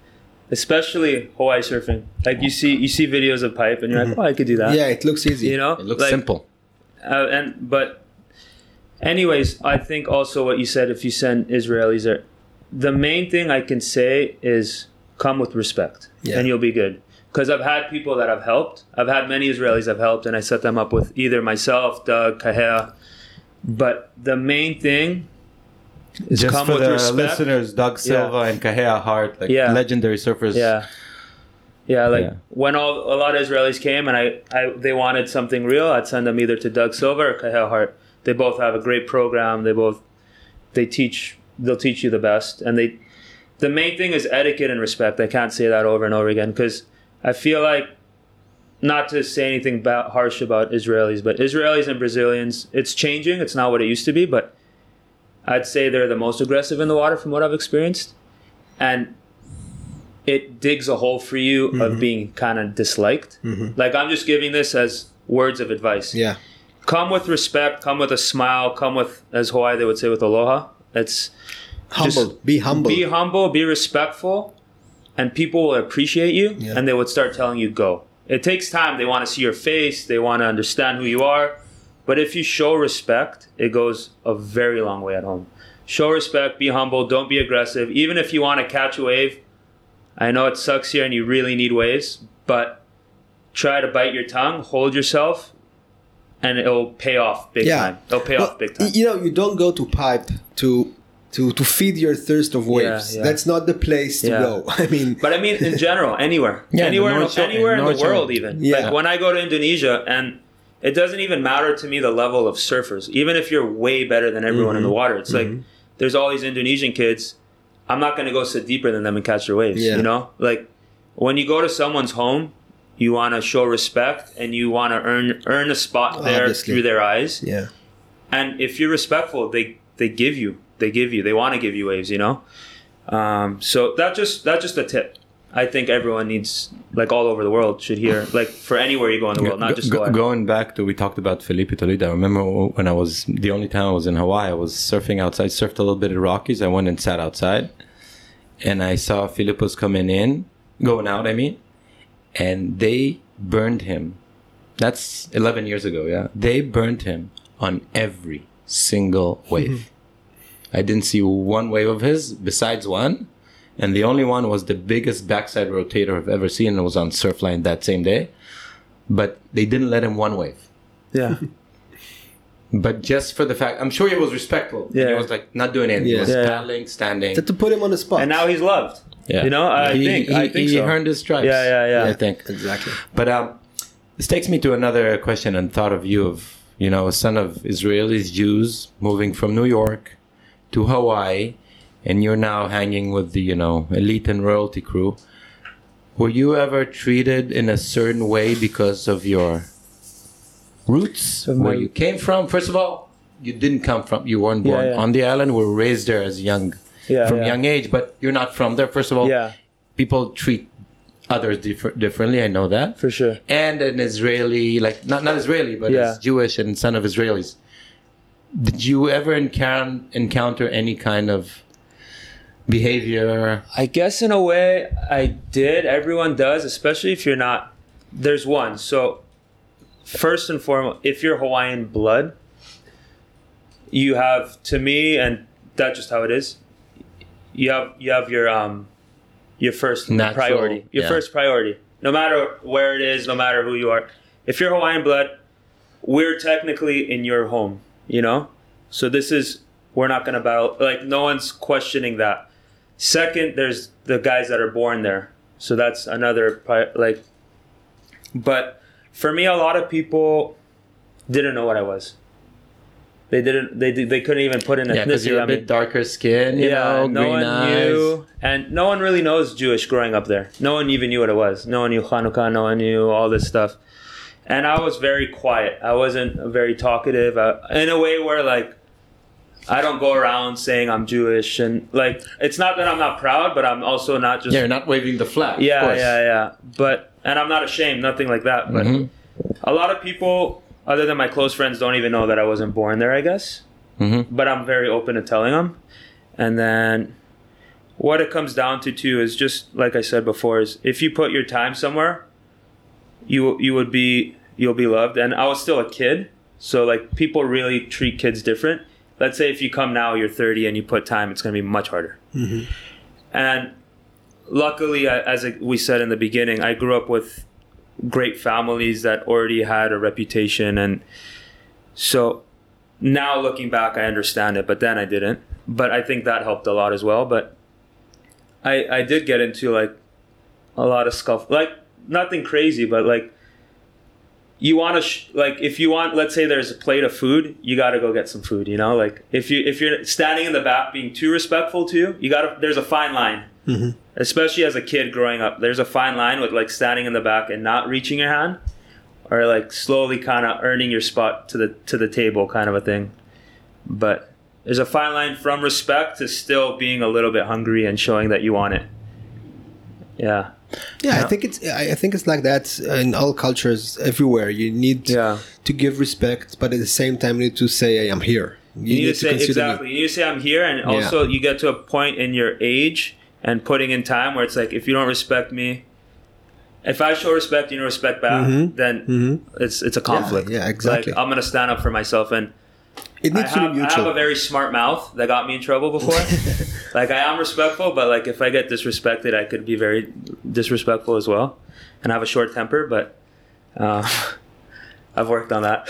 especially Hawaii surfing. Like you see, you see videos of pipe, and you're mm-hmm. like, oh, I could do that. Yeah, it looks easy. You know, it looks like, simple. Uh, and but, anyways, I think also what you said. If you send Israelis there, the main thing I can say is come with respect. Yeah. And you'll be good. Because I've had people that I've helped. I've had many Israelis I've helped, and I set them up with either myself, Doug, Kahea. But the main thing is just come for with the respect. listeners, Doug Silva yeah. and Kahea Hart, like yeah. legendary surfers. Yeah, yeah. Like yeah. when all a lot of Israelis came and I, I, they wanted something real, I'd send them either to Doug Silva or Kahea Hart. They both have a great program. They both, they teach. They'll teach you the best, and they. The main thing is etiquette and respect. I can't say that over and over again because I feel like, not to say anything ba- harsh about Israelis, but Israelis and Brazilians, it's changing. It's not what it used to be, but I'd say they're the most aggressive in the water from what I've experienced. And it digs a hole for you mm-hmm. of being kind of disliked. Mm-hmm. Like I'm just giving this as words of advice. Yeah. Come with respect, come with a smile, come with, as Hawaii they would say, with aloha. It's... Humble. Just be humble. Be humble, be respectful, and people will appreciate you, yeah. and they would start telling you go. It takes time. They want to see your face. They want to understand who you are. But if you show respect, it goes a very long way at home. Show respect, be humble, don't be aggressive. Even if you want to catch a wave, I know it sucks here and you really need waves, but try to bite your tongue, hold yourself, and it'll pay off big yeah. time. It'll pay well, off big time. You know, you don't go to pipe to... To, to feed your thirst of waves. Yeah, yeah. That's not the place to yeah. go. I mean, but I mean in general, anywhere, yeah, anywhere, in, North, anywhere in, in the world, even. Yeah. Like when I go to Indonesia, and it doesn't even matter to me the level of surfers. Even if you're way better than everyone mm-hmm. in the water, it's mm-hmm. like there's all these Indonesian kids. I'm not going to go sit deeper than them and catch their waves. Yeah. You know, like when you go to someone's home, you want to show respect and you want to earn earn a spot there Obviously. Through their eyes. Yeah. And if you're respectful, they they give you. They give you, they want to give you waves, you know? Um, so that just, that's just a tip. I think everyone needs, like all over the world should hear, like for anywhere you go in the world, not just go, Going back to, we talked about Felipe Toledo. I remember when I was, the only time I was in Hawaii, I was surfing outside, surfed a little bit at Rockies. I went and sat outside and I saw Filipos coming in, going out, I mean, and they burned him. That's eleven years ago, yeah? They burned him on every single wave. Mm-hmm. I didn't see one wave of his besides one. And the only one was the biggest backside rotator I've ever seen. And it was on Surfline that same day. But they didn't let him one wave. Yeah. But just for the fact, I'm sure he was respectful. Yeah. And he was like not doing anything. Yeah. He was yeah. paddling, standing. To put him on the spot. And now he's loved. Yeah. You know, I he, think, he, I think he so. earned his stripes. Yeah, yeah, yeah. I think. Exactly. But um, this takes me to another question and thought of you of, you know, a son of Israelis, Jews, moving from New York to Hawaii, and you're now hanging with the, you know, elite and royalty crew. Were you ever treated in a certain way because of your roots, of where my... you came from? First of all, you didn't come from, you weren't born yeah, yeah. on the island, were raised there as young, yeah, from yeah. young age, but you're not from there. First of all, yeah. people treat others differ- differently, I know that. For sure. And an Israeli, like, not, not Israeli, but yeah. as Jewish and son of Israelis. did you ever encounter encounter any kind of behavior? I guess in a way I did. Everyone does, especially if you're not. There's one. So first and foremost, if you're Hawaiian blood, you have, to me, and that's just how it is. You have you have your um your first Natural, priority. Your yeah. first priority. No matter where it is, no matter who you are. If you're Hawaiian blood, we're technically in your home, you know? So this is, we're not going to battle. Like, no one's questioning that. Second, there's the guys that are born there. So that's another, pri- like, but for me, a lot of people didn't know what I was. They didn't, they they couldn't even put in ethnicity. Yeah, because you're a I bit mean, darker skin, you yeah, know, no green one eyes. knew, and no one really knows Jewish growing up there. No one even knew what it was. No one knew Hanukkah. No one knew all this stuff. And I was very quiet. I wasn't very talkative. I, in a way where, like, I don't go around saying I'm Jewish, and like, it's not that I'm not proud, but I'm also not just. Yeah, you're not waving the flag. Yeah, of course. yeah, yeah. But and I'm not ashamed. Nothing like that. But Mhm. a lot of people, other than my close friends, don't even know that I wasn't born there, I guess. Mm-hmm. But I'm very open to telling them. And then what it comes down to too is just like I said before, is if you put your time somewhere, you you would be you'll be loved. And I was still a kid, so like people really treat kids different. Let's say if you come now, you're thirty and you put time, it's going to be much harder. Mm-hmm. And luckily, I- as we said in the beginning, I grew up with great families that already had a reputation, and so now looking back, I understand it, but then I didn't. But I think that helped a lot as well. But I I did get into like a lot of scuff, like nothing crazy, but like you want to sh- like if you want, let's say there's a plate of food, you got to go get some food. You know, like if you if you're standing in the back being too respectful to you, you got to. There's a fine line, Mm-hmm. especially as a kid growing up. There's a fine line with like standing in the back and not reaching your hand, or like slowly kind of earning your spot to the to the table, kind of a thing. But there's a fine line from respect to still being a little bit hungry and showing that you want it. Yeah. Yeah, Yeah. I think it's I I think it's like that in all cultures everywhere. You need Yeah. to give respect, but at the same time, you need to say, "I am here." You, need, to say consider me. exactly. You need to say I'm here, and Yeah. also you get to a point in your age and putting in time where it's like, if you don't respect me, if I show respect, you don't respect back, Mhm. then Mhm. it's it's a conflict. yeah, exactly. Like, I'm gonna stand up for myself, and It I needs to have, be I mutual. have a very smart mouth that got me in trouble before. Like, I am respectful, but like if I get disrespected, I could be very disrespectful as well, and I have a short temper, but uh, I've worked on that.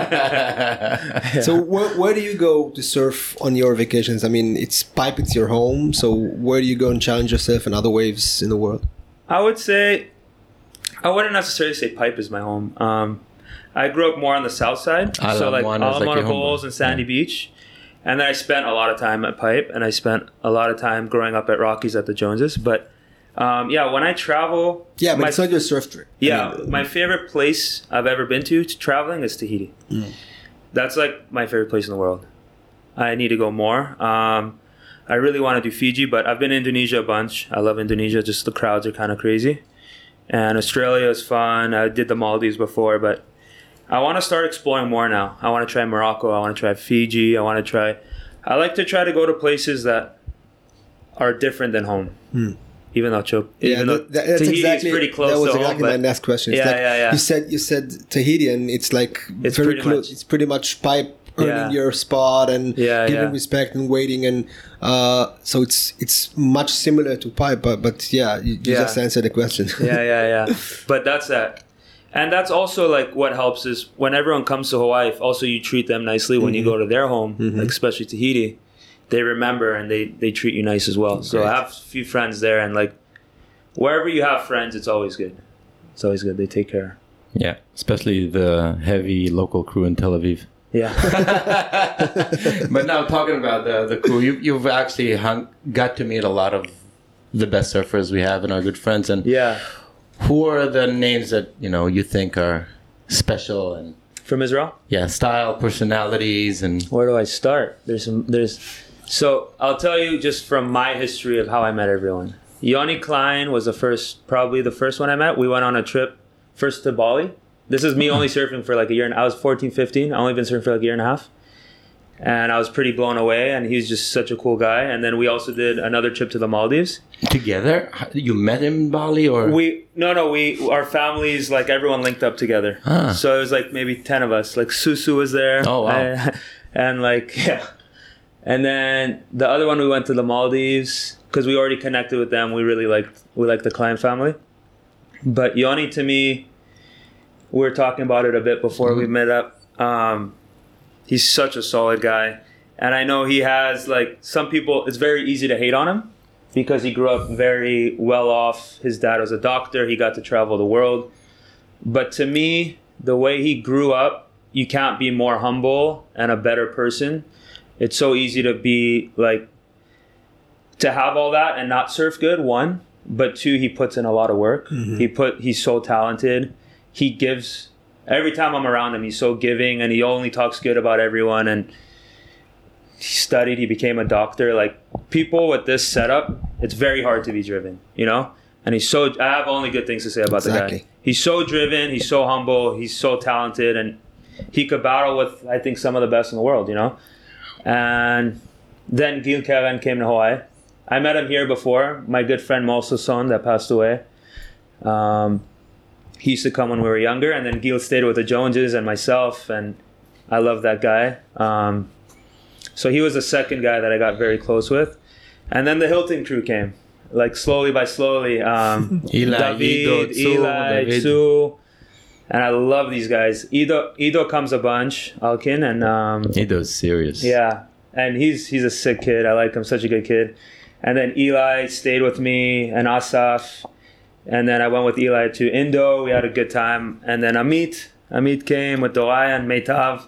Yeah. So where, where do you go to surf on your vacations? I mean, it's Pipe, it's your home. So where do you go and challenge yourself in other waves in the world? I would say, I wouldn't necessarily say Pipe is my home. Um, I grew up more on the south side, Ala so like Moana is like Ala your home. Bowls and Sandy Beach, and then I spent a lot of time at Pipe, and I spent a lot of time growing up at Rockies at the Joneses. But um, yeah, when I travel, Yeah, but my, it's not your surf trip. I yeah, mean, my favorite place I've ever been to, to traveling is Tahiti. Mm. That's like my favorite place in the world. I need to go more. Um, I really want to do Fiji, but I've been to Indonesia a bunch. I love Indonesia. Just the crowds are kind of crazy. And Australia is fun. I did the Maldives before, but I want to start exploring more now. I want to try Morocco. I want to try Fiji. I want to try... I like to try to go to places that are different than home. Hmm. Even though, Chop, Yeah, even though that, that- that's Tahiti exactly is pretty close that was to exactly home. my but next question. It's Yeah, like, yeah, yeah. You said you said Tahiti, and it's like It's very pretty close. much- It's pretty much Pipe earning Yeah. your spot and Yeah, giving yeah. respect and waiting, and uh, so it's it's much similar to Pipe, but but yeah, you, you Yeah. just answered the question. yeah, yeah, yeah. But that's that. And that's also like what helps is when everyone comes to Hawaii, if also you treat them nicely when you Mm-hmm. go to their home, like especially Tahiti, they remember and they, they treat you nice as well. So Great. I have a few friends there, and like wherever you have friends, it's always good. It's always good. They take care. Yeah, especially the heavy local crew in Tel Aviv. Yeah. But now talking about the the crew, you you've actually hung, got to meet a lot of the best surfers we have and our good friends. And Yeah. who are the names that you know you think are special and From Israel? yeah, style, personalities, and Where do I start? There's some there's so I'll tell you just from my history of how I met everyone. Yoni Klein was the first, probably the first one I met. We went on a trip first to Bali. This is me only surfing for like a year, and I was fourteen, fifteen. I only been surfing for like a year and a half. and I was pretty blown away. And he's just such a cool guy. And then we also did another trip to the Maldives together. You met him in Bali, or we? No, no. We our families, like everyone linked up together. Ah. So it was like maybe ten of us. Like Susu was there. Oh wow! And, and like yeah. And then the other one we went to the Maldives because we already connected with them. We really liked we liked the Klein family. But Yoni, to me, we were talking about it a bit before mm-hmm. we met up. Um, he's such a solid guy. And I know he has, like, some people, it's very easy to hate on him because he grew up very well off. His dad was a doctor. He got to travel the world. But to me, the way he grew up, you can't be more humble and a better person. It's so easy to be, like, to have all that and not surf good, one. But two, he puts in a lot of work. Mm-hmm. He put, he's so talented. He gives, every time I'm around him, he's so giving, and he only talks good about everyone. And he studied, he became a doctor. Like, people with this setup, it's very hard to be driven, you know? And he's so, I have only good things to say about exactly. the guy. He's so driven, he's so humble, he's so talented, and he could battle with, I think, some of the best in the world, you know? And then Gil Keren came to Hawaii. I met him here before. My good friend Moso's son that passed away. Um, he used to come when we were younger, and then Gil stayed with the Joneses and myself, and I love that guy. Um, so he was the second guy that I got very close with. And then the Hilton crew came, like slowly by slowly. Um, Eli, David, Ido, Tsu, Eli, David. Tsu. And I love these guys. Ido, Ido comes a bunch, Alkin, and um, Ido's serious. Yeah, and he's he's a sick kid. I like him, such a good kid. And then Eli stayed with me, and Asaf. And then I went with Eli to Indo. We had a good time. And then Amit. Amit came with Doraya and Meitav.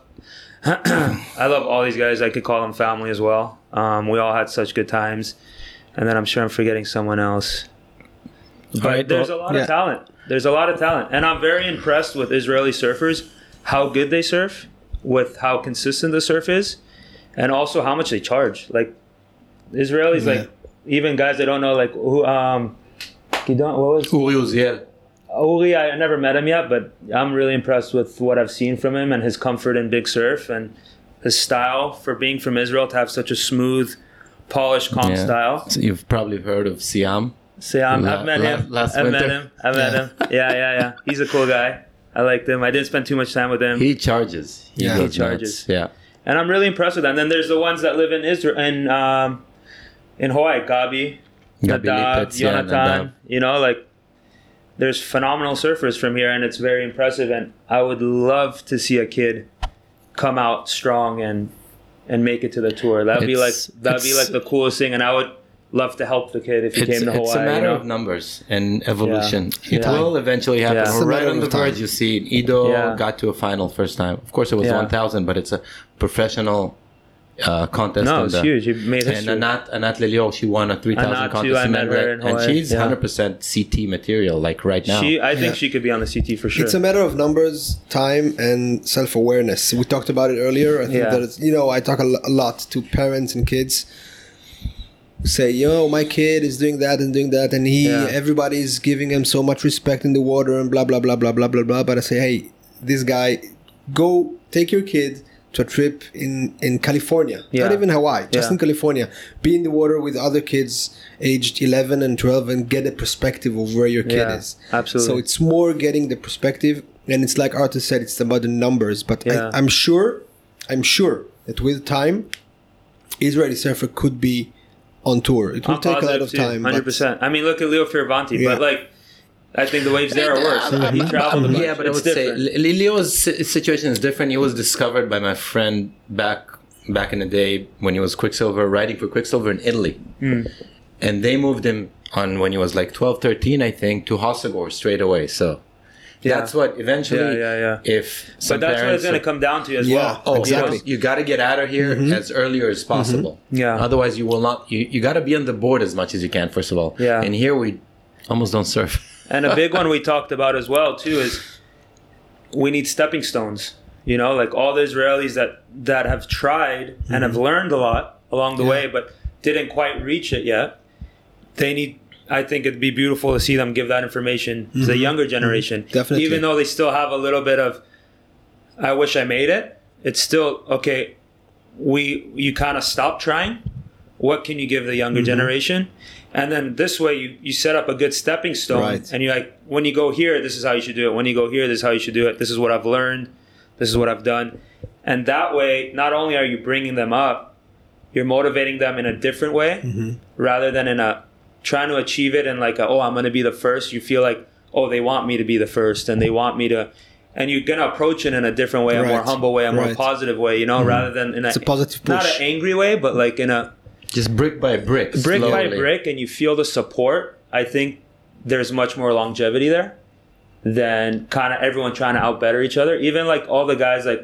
I love all these guys. I could call them family as well. Um, we all had such good times. And then I'm sure I'm forgetting someone else. But right, there's well, a lot yeah. of talent. There's a lot of talent. And I'm very impressed with Israeli surfers, how good they surf, with how consistent the surf is, and also how much they charge. Like, Israelis, yeah. like, even guys I don't know, like, who, um, Gidon, what was Uri Uziel. Uri, I never met him yet, but I'm really impressed with what I've seen from him and his comfort in big surf and his style for being from Israel to have such a smooth, polished, calm Yeah. style. So you've probably heard of Siam. Siam, La- I've met la- him. last I've met winter. him. I've met him. Yeah, yeah, yeah. He's a cool guy. I liked him. I didn't spend too much time with him. He charges. Yeah. goes He charges. nuts. Yeah. And I'm really impressed with that. And then there's the ones that live in Israel, in, um, in Hawaii, Gabi, Gabi Nadav, Lipetz, yeah, Jonathan, Nadav. you know, like, there's phenomenal surfers from here, and it's very impressive. And I would love to see a kid come out strong and and make it to the tour. That'd be like It's- that'd be it's- like the coolest thing. And I would love to help the kid if he It's, came to Hawaii. it's a matter you know? of numbers and evolution. Yeah. It Yeah. will eventually happen. Yeah. It's We're a right matter on the of time. verge. You see, Ido Yeah. got to a final first time. Of course, it was Yeah. one thousand, but it's a professional uh, contest. No, in it's the- huge. He made And history. Anat, Anat Lelior, she won a three thousand Anat, too, contest I in met her Medred, in and Hawaii. she's Yeah. one hundred percent C T material, like right now. She, I think Yeah. she could be on the C T for sure. It's a matter of numbers, time, and self-awareness. We talked about it earlier. I think Yeah. that it's, you know, I talk a, lo- a lot to parents and kids. Say, yo, my kid is doing that and doing that, and he, Yeah. everybody's giving him so much respect in the water and blah blah blah blah blah blah blah. But I say, hey, this guy, go take your kid to a trip in in California, Yeah. not even Hawaii, just Yeah. in California. Be in the water with other kids aged eleven and twelve and get a perspective of where your kid Yeah, is. absolutely. So it's more getting the perspective, and it's like Arthur said, it's about the numbers. But Yeah. I, I'm sure, I'm sure that with time, Israeli surfer could be on tour. It will I'm take a lot positive of too, time. one hundred but- percent. I mean, look at Leo Fioravanti, Yeah. but like, I think the waves there are worse. He traveled a bunch. Yeah, but it's I would different. say Li- Leo's si- situation is different. He was discovered by my friend back back in the day when he was Quicksilver, riding for Quicksilver in Italy. Hmm. And they moved him on when he was like twelve, thirteen, I think, to Hossegor straight away. So Yeah. that's what eventually, Yeah, yeah, yeah. if some But that's what it's parents going to are- come down to as Yeah. well. Oh, Exactly. exactly. You got to get out of here as earlier as possible. Yeah. Otherwise, you will not. You, you got to be on the board as much as you can. First of all. Yeah. And here we almost don't surf. And a big one we talked about as well too is we need stepping stones. You know, like all the Israelis that that have tried and have learned a lot along the Yeah. way, but didn't quite reach it yet. They need. I think it'd be beautiful to see them give that information to the younger generation. Definitely. Even though they still have a little bit of, I wish I made it. It's still okay. we you kind of stop trying. What can you give the younger mm-hmm. generation? And then this way you, you set up a good stepping stone. Right. And you're like, when you go here, this is how you should do it. When you go here, this is how you should do it. This is what I've learned. This is what I've done. And that way, not only are you bringing them up, you're motivating them in a different way mm-hmm. rather than in a trying to achieve it and like, a, oh, I'm going to be the first. You feel like, oh, they want me to be the first and they want me to. And you're going to approach it in a different way, a right. more humble way, a right. more positive way, you know, mm-hmm. rather than in a, it's a positive push. Not an angry way, but like in a. Just brick by brick. Brick slowly. by brick, and you feel the support. I think there's much more longevity there than kind of everyone trying to outbetter each other. Even like all the guys, like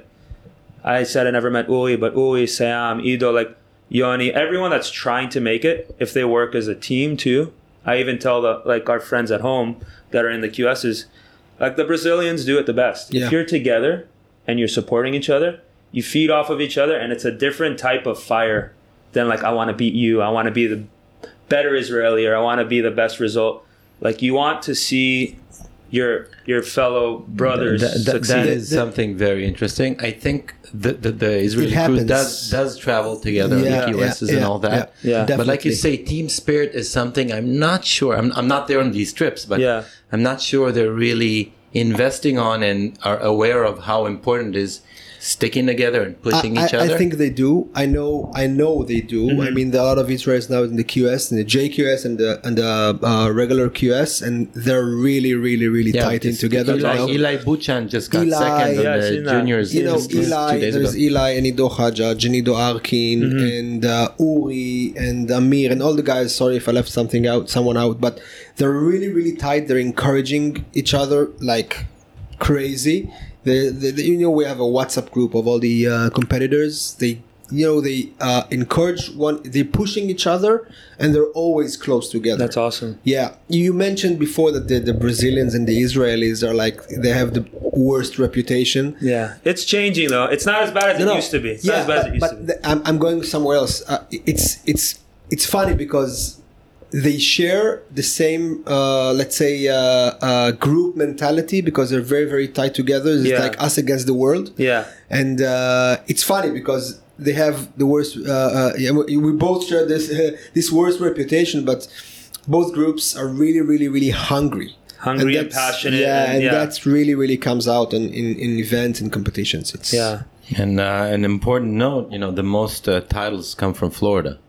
I said, I never met Uli, but Uli, Sam, Ido, like Yoni, everyone that's trying to make it, if they work as a team too. I even tell the like our friends at home that are in the Q Ss, like the Brazilians do it the best. Yeah. If you're together and you're supporting each other, you feed off of each other, and it's a different type of fire. Then like I want to beat you, I want to be the better Israeli, or I want to be the best result. Like you want to see your your fellow brothers that, that, succeed. That is something very interesting. I think the the, the Israeli crew does does travel together yeah, on the Q Ss yeah, and yeah, all that. Yeah, yeah. But like you say, team spirit is something I'm not sure. I'm I'm not there on these trips, but yeah. I'm not sure they're really investing on and are aware of how important it is. Sticking together and pushing I, each other. I think they do. I know. I know they do. Mm-hmm. I mean, there are a lot of Israelis now in the Q S, and the J Q S, and the and the uh, regular Q S, and they're really, really, really yeah, tight in together. Eli, you know? Eli Buchan just got Eli, second yeah, on the juniors. You know, just, Eli. just There's ago. Eli and Ido Hajjaj, and Ido Arkin, mm-hmm. and uh, Uri and Amir, and all the guys. Sorry if I left something out, someone out, but they're really, really tight. They're encouraging each other like crazy. The, the, the, you know, we have a WhatsApp group of all the uh, competitors. They, you know, they uh, encourage one. They're pushing each other, and they're always close together. That's awesome. Yeah, you mentioned before that the, the Brazilians and the Israelis are like they have the worst reputation. Yeah, it's changing though. It's not as bad as no, it no. used to be. It's yeah, not as bad but, as it used but to be. The, I'm, I'm going somewhere else. Uh, it's it's it's funny because they share the same, uh, let's say, uh, uh, group mentality because they're very, very tight together. It's yeah. like us against the world. Yeah. And uh, it's funny because they have the worst. Uh, uh, yeah, we both share this uh, this worst reputation, but both groups are really, really, really hungry. Hungry and, and passionate. Yeah, and, and yeah. that's really, really comes out in, in, in events and competitions. It's, yeah. And uh, an important note, you know, the most uh, titles come from Florida.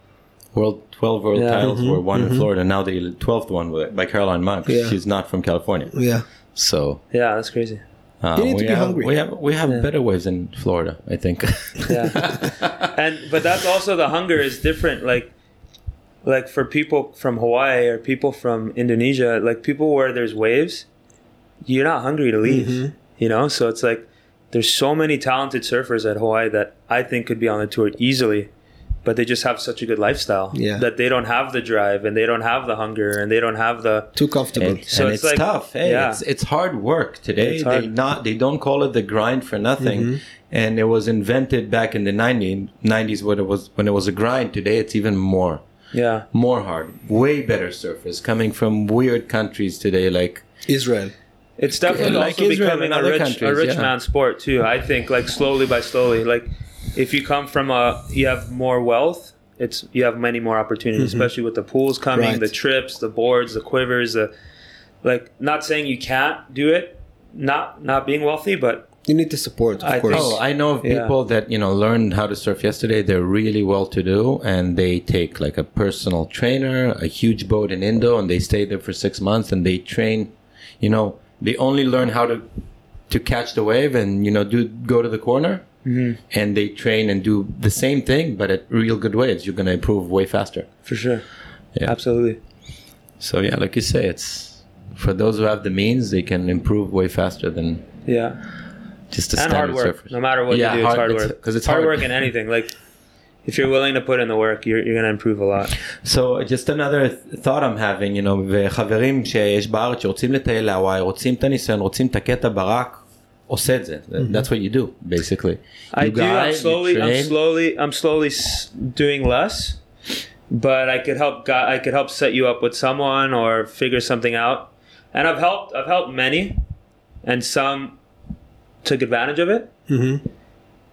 World twelve world yeah. titles mm-hmm, were won mm-hmm. in Florida. Now the twelfth one by Caroline Monk. Yeah. She's not from California. Yeah. So. Yeah, that's crazy. Uh, you need we to be have, hungry. We have we have yeah. better waves in Florida, I think. Yeah. And but that's also the hunger is different. Like, like for people from Hawaii or people from Indonesia, like people where there's waves, you're not hungry to leave. Mm-hmm. You know, so it's like there's so many talented surfers at Hawaii that I think could be on the tour easily. But they just have such a good lifestyle yeah. that they don't have the drive and they don't have the hunger and they don't have the too comfortable. And, so and it's, it's like, tough. Hey, yeah. it's it's hard work today. Hard. They not they don't call it the grind for nothing. Mm-hmm. And it was invented back in the nineties when it was when it was a grind. Today it's even more. Yeah, more hard. Way better surfers coming from weird countries today, like Israel. It's definitely like also Israel becoming a rich a rich yeah. man sport too. I think like slowly by slowly like. If you come from a, you have more wealth. It's you have many more opportunities, mm-hmm. especially with the pools coming, right. the trips, the boards, the quivers. The, like, not saying you can't do it, not not being wealthy, but you need to support. Of I course. Oh, I know of people yeah. that you know learned how to surf yesterday. They're really well to do, and they take like a personal trainer, a huge boat in Indo, and they stay there for six months, and they train. You know, they only learn how to to catch the wave, and you know, do go to the corner. Mm-hmm. And they train and do the same thing, but at real good waves, you're going to improve way faster. For sure. Yeah. Absolutely. So, yeah, like you say, it's for those who have the means, they can improve way faster than yeah, just a and standard hard work. surfers. No matter what yeah, you do, hard, it's hard it's, work. Because it's hard, hard work in anything. Like, if you're willing to put in the work, you're, you're going to improve a lot. So, just another thought I'm having, you know, וחברים שיש בארץ שרוצים לטייל להוואי, רוצים את הניסיון, רוצים את הקטע ברק, עושה את זה. That's what you do, basically. I you do. guide, I'm slowly, I'm train. slowly, I'm slowly doing less, but I could help. I could help set you up with someone or figure something out. And I've helped. I've helped many, and some took advantage of it. Mm-hmm.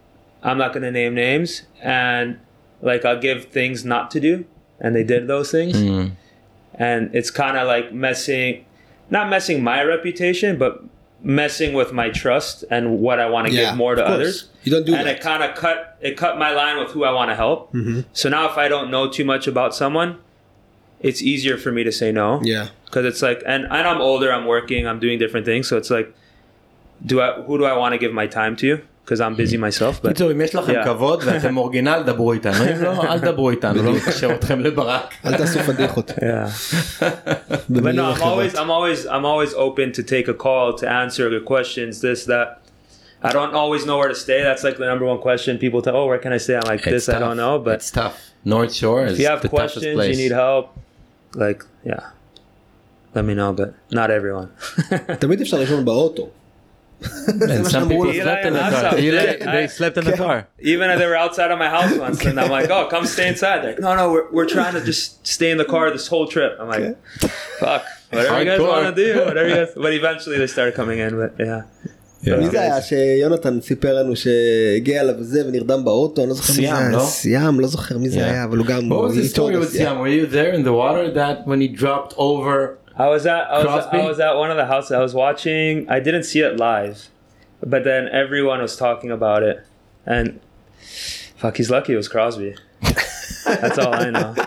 I'm not going to name names, and like I'll give things not to do, and they did those things, mm. and it's kind of like messing, not messing my reputation, but messing with my trust and what I want to yeah, give more to others. You don't do and that. it kind of cut it cut my line with who I want to help. Mm-hmm. So now if I don't know too much about someone, it's easier for me to say no. Yeah. Because it's like, and, and I'm older, I'm working, I'm doing different things. So it's like, do I who do I want to give my time to? Because I'm busy myself. But אם יש לכם כבוד ואתם אורגינל, דברו איתנו. אם לא, אל דברו איתנו, לא נקשר אתכם לברק. אל תעשו פדיחות. Yeah. But no, I'm always, I'm always, I'm always open to take a call, to answer the questions, this, that. I don't always know where to stay. That's like the number one question. People tell, oh, where can I stay? I'm like, this, I don't know. But it's tough. North Shore is the toughest place. If you have questions, you need help, like, yeah, let me know, but not everyone. תמיד אפשר לישון באוטו. And some people slept in the car. They slept in the car. Even if they were outside of my house once, and I'm like, oh, come stay inside. They're like, no, no, we're, we're trying to just stay in the car this whole trip. I'm like, fuck, whatever you guys want to do, whatever you guys. But eventually they started coming in, but yeah. מי זה היה שיונתן סיפר לנו שהגיע אליו וזה ונרדם באוטו, אני לא זוכר מי זה היה, סיאם, לא זוכר מי זה היה, אבל הוא גם... What was the story with Siam? Were you there in the water that when he dropped over? I was at I was, I was at one of the houses. I was watching. I didn't see it live, but then everyone was talking about it, and fuck, he's lucky it was Crosby. That's all I know.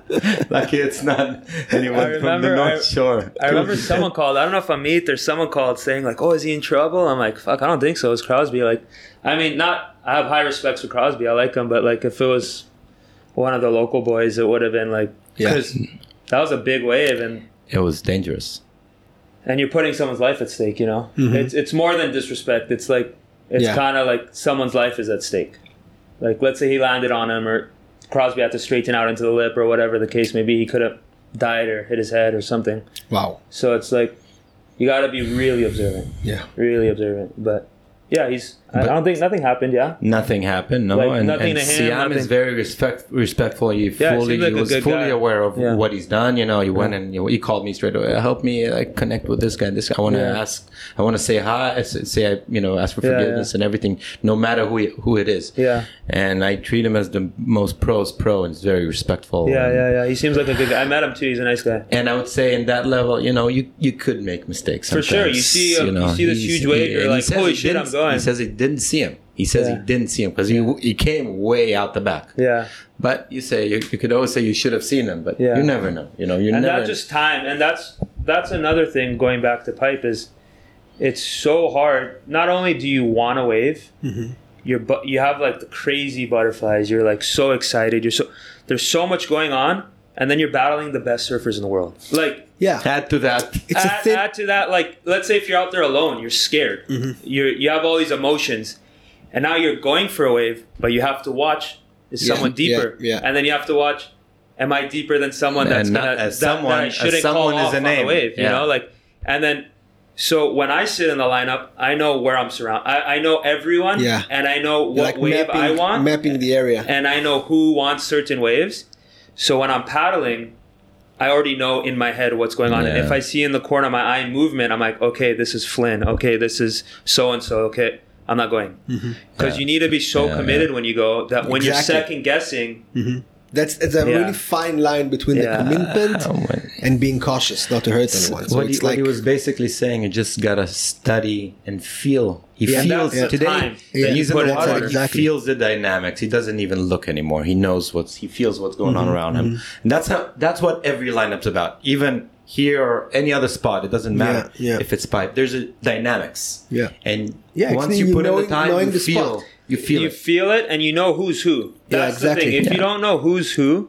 Lucky it's not anyone remember, from the North I, Shore. I remember someone called. I don't know if Amit or someone called saying like, "Oh, is he in trouble?" I'm like, "Fuck, I don't think so." It's Crosby. Like, I mean, not. I have high respects for Crosby. I like him, but like, if it was one of the local boys, it would have been like, because yeah. that was a big wave and. It was dangerous. And you're putting someone's life at stake, you know? Mm-hmm. It's it's more than disrespect. It's like, it's yeah. kind of like someone's life is at stake. Like, let's say he landed on him or Crosby had to straighten out into the lip or whatever the case may be. He could have died or hit his head or something. Wow. So it's like, you got to be really observant. Yeah. Really observant. But yeah, he's, I, I don't think, nothing happened, yeah? Nothing happened, no. Like, and nothing and to him, Siam nothing. is very respect, respectful. He, yeah, fully, like he was fully guy. aware of yeah. what he's done. You know, he went yeah. and you know, he called me straight away. Help me like, connect with this guy. This guy. I want to yeah. ask, I want to say hi, say, you know, ask for yeah, forgiveness yeah. and everything, no matter who he, who it is. Yeah. And I treat him as the most pro's pro and he's very respectful. Yeah, and, yeah, yeah. He seems like a good guy. I met him too. He's a nice guy. And I would say in that level, you know, you, you could make mistakes sometimes. For sure. You see, a, you, know, you see this huge wave, you're like, holy shit, I'm going. He says he didn't see him. He says yeah. he didn't see him because he, he came way out the back. Yeah. But you say, you, you could always say you should have seen him, but yeah. you never know. You know, you and never. that's just time. And that's that's another thing going back to pipe is it's so hard. Not only do you want to wave, mm-hmm. you're but you have like the crazy butterflies. You're like so excited. You're so there's so much going on, and then you're battling the best surfers in the world. Like yeah, add to that. It's add, a thin- add to that. Like let's say if you're out there alone, you're scared. Mm-hmm. You're you have all these emotions, and now you're going for a wave, but you have to watch. Is yeah, someone deeper? Yeah, yeah. And then you have to watch. Am I deeper than someone that's not, gonna as that, someone, that I shouldn't as someone call is off a on name. the wave? You yeah. know, like, and then so when I sit in the lineup, I know where I'm surrounded. I, I know everyone, yeah. and I know what like wave mapping, I want, mapping the area, and I know who wants certain waves. So when I'm paddling, I already know in my head what's going on. Yeah. And if I see in the corner of my eye movement, I'm like, okay, this is Flynn. Okay, this is so and so. Okay. I'm not going because mm-hmm. yeah. you need to be so yeah, committed yeah. when you go that when exactly. you're second guessing. Mm-hmm. That's it's a yeah. really fine line between yeah. the commitment oh, and being cautious, not to hurt anyone. So what, it's he, like what he was basically saying, you just gotta study and feel. He yeah, feels yeah. today. Time yeah. He's in the water. Exactly. He feels the dynamics. He doesn't even look anymore. He knows what's. He feels what's going mm-hmm. on around him. Mm-hmm. And that's how. That's what every lineup's about. Even here or any other spot, it doesn't matter yeah, yeah. if it's pipe. There's a dynamics. Yeah. And yeah, once you put knowing, in the time, you the feel. Spot. You feel. You it. feel it, and you know who's who. That's yeah, exactly. the thing. If yeah. you don't know who's who,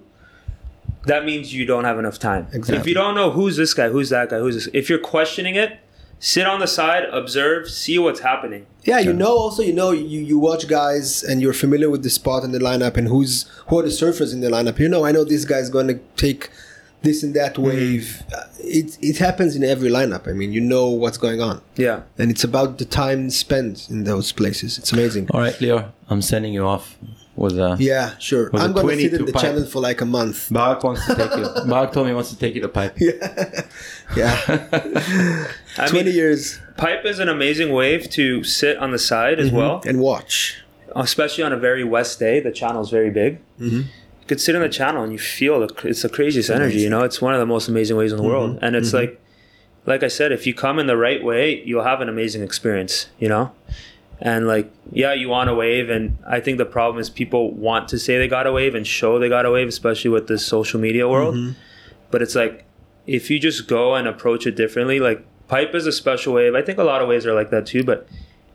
that means you don't have enough time. Exactly. If you don't know who's this guy, who's that guy, who's this, if you're questioning it, sit on the side, observe, see what's happening. Yeah, you know. Also, you know, you, you watch guys and you're familiar with the spot in the lineup and who's who are the surfers in the lineup. You know, I know this guy's going to take this and that wave. Mm-hmm. It it happens in every lineup. I mean, you know what's going on. Yeah, and it's about the time spent in those places. It's amazing. All right, Leo, I'm sending you off. With a, yeah, sure. I'm going to sit in the pipe. channel for like a month. Barak wants to take you. Barak told me he wants to take you to pipe. Yeah. Yeah. I twenty mean, years. Pipe is an amazing wave to sit on the side as mm-hmm. well. And watch. especially on a very west day, the channel is very big. Mm-hmm. You could sit in the channel and you feel the, it's the craziest energy. Amazing. You know, it's one of the most amazing waves in the mm-hmm. world. And it's mm-hmm. like, like I said, if you come in the right way, you'll have an amazing experience, you know? And like, yeah, you want a wave. And I think the problem is people want to say they got a wave and show they got a wave, especially with this social media world. Mm-hmm. But it's like, if you just go and approach it differently, like pipe is a special wave. I think a lot of waves are like that too, but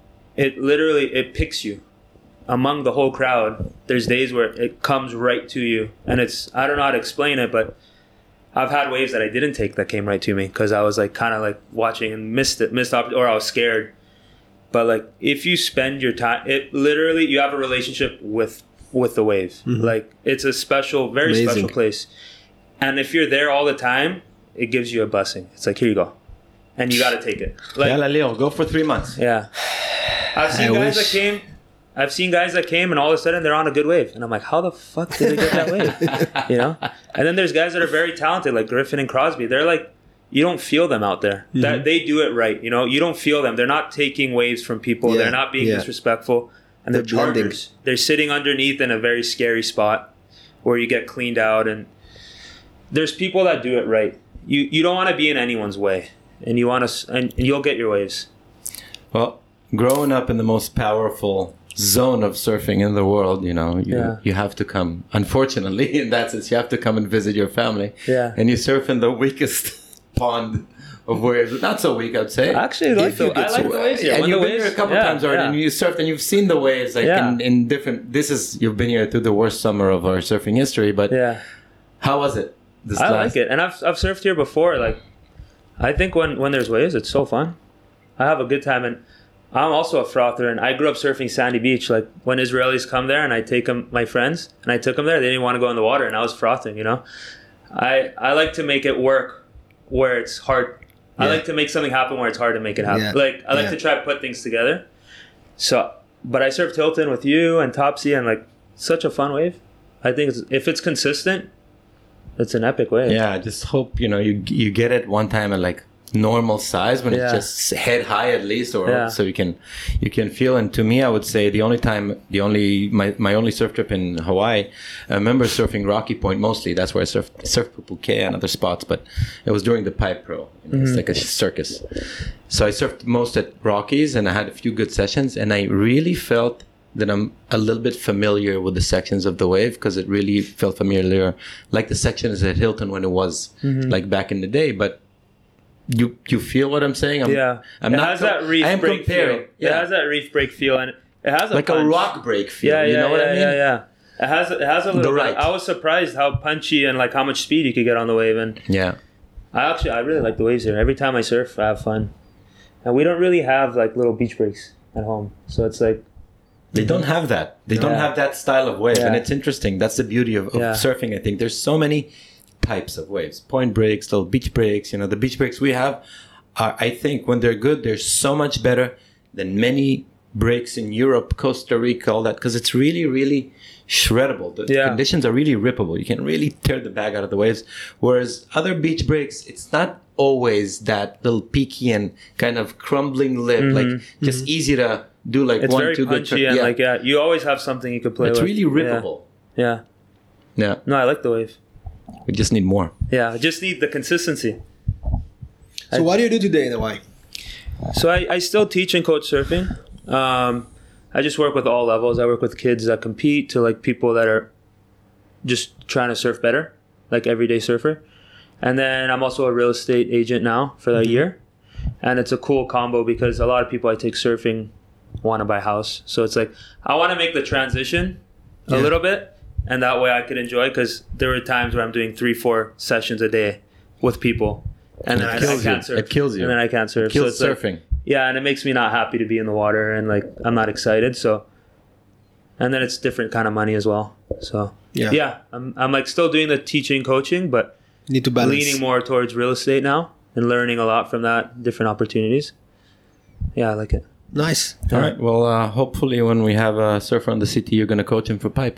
it literally, it picks you among the whole crowd. There's days where it comes right to you. And it's, I don't know how to explain it, but I've had waves that I didn't take that came right to me because I was like kind of like watching and missed it, missed op- or I was scared. But like if you spend your time, it literally, you have a relationship with with the wave. Mm-hmm. Like it's a special, very Amazing. special place. And if you're there all the time, it gives you a blessing. It's like, here you go. And you got to take it. Like, yeah, Leo, go for three months. Yeah. I've seen I guys wish. that came, I've seen guys that came and all of a sudden they're on a good wave. And I'm like, how the fuck did they get that wave? You know? And then there's guys that are very talented, like Griffin and Crosby. They're like, you don't feel them out there. Mm-hmm. That they do it right. You know, you don't feel them. They're not taking waves from people. Yeah. They're not being yeah. disrespectful. And they're, they're chargers. They're sitting underneath in a very scary spot where you get cleaned out. And there's people that do it right. You you don't want to be in anyone's way. And you want to, and you'll get your waves. Well, growing up in the most powerful zone of surfing in the world, you know, you, yeah. you have to come. Unfortunately, in that sense, you have to come and visit your family. Yeah. And you surf in the weakest pond of waves. Not so weak, I'd say. Actually, I like, the, I like the waves here. And when you've the been waves, here a couple yeah, times already, yeah. and you surfed, and you've seen the waves like yeah. in, in different. This is you've been here through the worst summer of our surfing history, but yeah, how was it? This I last? like it, and I've I've surfed here before. Like, I think when when there's waves, it's so fun. I have a good time, and I'm also a frother, and I grew up surfing Sandy Beach. Like when Israelis come there, and I take them, my friends, and I took them there. They didn't want to go in the water, and I was frothing. You know, I I like to make it work where it's hard. Yeah. I like to make something happen where it's hard to make it happen. Yeah. Like I like yeah. to try to put things together. So, but I surfed Hilton with you and Topsy, and like such a fun wave. I think it's, if it's consistent, it's an epic wave. Yeah, I just hope you know you you get it one time at like normal size when yeah. it's just head high at least, or yeah. so you can you can feel. And to me, I would say the only time, the only my, my only surf trip in Hawaii, I remember surfing Rocky Point mostly. That's where I surfed surfed Pupuke and other spots, but it was during the Pipe Pro. You know, mm-hmm. It's like a circus. So I surfed most at Rockies, and I had a few good sessions, and I really felt that I'm a little bit familiar with the sections of the wave because it really felt familiar, like the sections at Hilton when it was mm-hmm. like back in the day, but. You you feel what I'm saying? I'm, yeah, I'm it not has co- that reef break comparing. feel. Yeah. It has that reef break feel, and it has a like punch. a rock break feel. Yeah, yeah, you know yeah, what I mean? yeah, yeah. It has it has a little. The bit. right. I was surprised how punchy and like how much speed you could get on the wave, and yeah, I actually I really like the waves here. Every time I surf, I have fun, and we don't really have like little beach breaks at home, so it's like. They don't have that. They yeah. don't have that style of wave, yeah. and it's interesting. That's the beauty of, of yeah. surfing. I think there's so many types of waves: point breaks, little beach breaks. You know, the beach breaks we have. Are, I think when they're good, they're so much better than many breaks in Europe, Costa Rica, all that, because it's really, really shreddable. The yeah. conditions are really rippable. You can really tear the bag out of the waves. Whereas other beach breaks, it's not always that little peaky and kind of crumbling lip, mm-hmm. like just mm-hmm. easy to do like it's one, very two good punchy and yeah. like yeah, you always have something you could play it's with. It's really rippable. Yeah. yeah. Yeah. No, I like the wave. We just need more. Yeah, I just need the consistency. So I, what do you do today in Hawaii? So I, I still teach and coach surfing. Um, I just work with all levels. I work with kids that compete to like people that are just trying to surf better, like everyday surfer. And then I'm also a real estate agent now for a mm-hmm. year. And it's a cool combo because a lot of people I take surfing want to buy a house. So it's like, I want to make the transition a yeah. little bit. And that way I could enjoy, because there were times where I'm doing three, four sessions a day with people. And then I, I can't you. surf. It kills you. And then I can't surf. It kills so it's surfing. Like, yeah, and it makes me not happy to be in the water, and like I'm not excited. So, and then it's different kind of money as well. So yeah, yeah, I'm I'm like still doing the teaching, coaching, but you need to balance. Leaning more towards real estate now and learning a lot from that, different opportunities. Yeah, I like it. Nice. All yeah. right. Well, uh, hopefully when we have a surfer on the city, you're gonna coach him for pipe.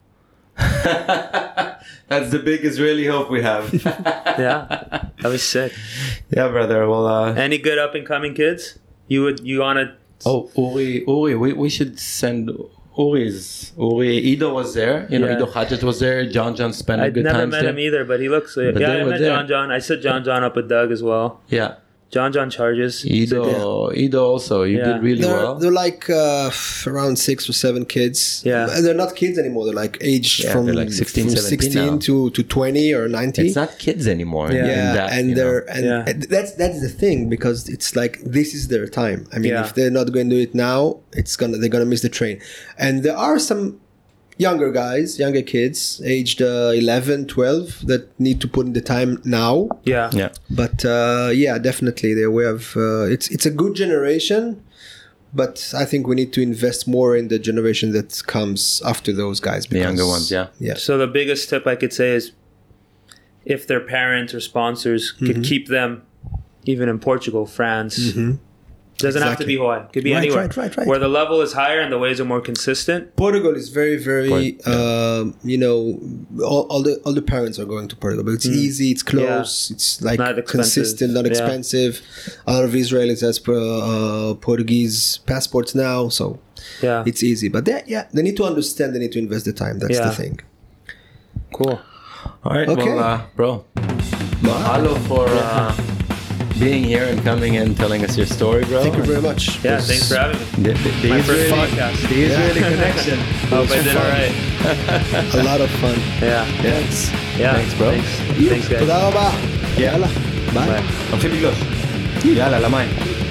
That's the big Israeli hope we have. Yeah, that was sick. Yeah, brother. Well, uh, any good up and coming kids? You would you wanna? Oh, Uri, Uri, we we should send Uri's. Uri, Ido was there. You know, Yeah. Ido Hadjet was there. John John spent a I'd good never time met there. him either, but he looks. Uh, But yeah, they I were met there. John John. I set John John up with Doug as well. Yeah. John John charges. Ido, Ido also. You Yeah. did really They're, well. they're like uh, f- around six or seven kids. Yeah. And they're not kids anymore. They're like aged Yeah, from, they're like sixteen, from seventeen sixteen now. to, to twenty or ninety. It's not kids anymore. Yeah. in yeah, that, and you they're know. and, Yeah. and that's that's the thing, because it's like this is their time. I mean, Yeah. if they're not going to do it now, it's gonna they're gonna miss the train. And there are some younger guys, younger kids, aged uh, eleven, twelve, that need to put in the time now. Yeah. Yeah. But uh, yeah, definitely they're aware of uh, it's it's a good generation, but I think we need to invest more in the generation that comes after those guys. The younger ones, yeah. Yeah. So the biggest tip I could say is, if their parents or sponsors Mm-hmm. could keep them, even in Portugal, France. Doesn't have to Exactly. be Hawaii. Could be Right, anywhere. right, right, right. Where the level is higher and the waves are more consistent. Portugal is very, very, Quite, um, you know, all, all the all the parents are going to Portugal, but it's easy, it's close, it's like Not expensive. consistent, not Yeah. expensive. A lot of Israelis has uh, Portuguese passports now, so Yeah. it's easy. But they, yeah, they need to understand. They need to invest the time. That's Yeah. the thing. Cool. All right, Okay. well, uh, bro, mahalo for uh, being here and coming and telling us your story, bro. Thank you very much. Yeah, It was- thanks for having me. The, the, the My first Israeli, podcast. the Israeli connection. Hope I did all right. A lot of fun. Yeah. Thanks. Yeah. Thanks, bro. Thanks, thanks guys. תודה רבה. Yeah. יאללה. ביי. Bye. הולכים לגלוש. יאללה, למים.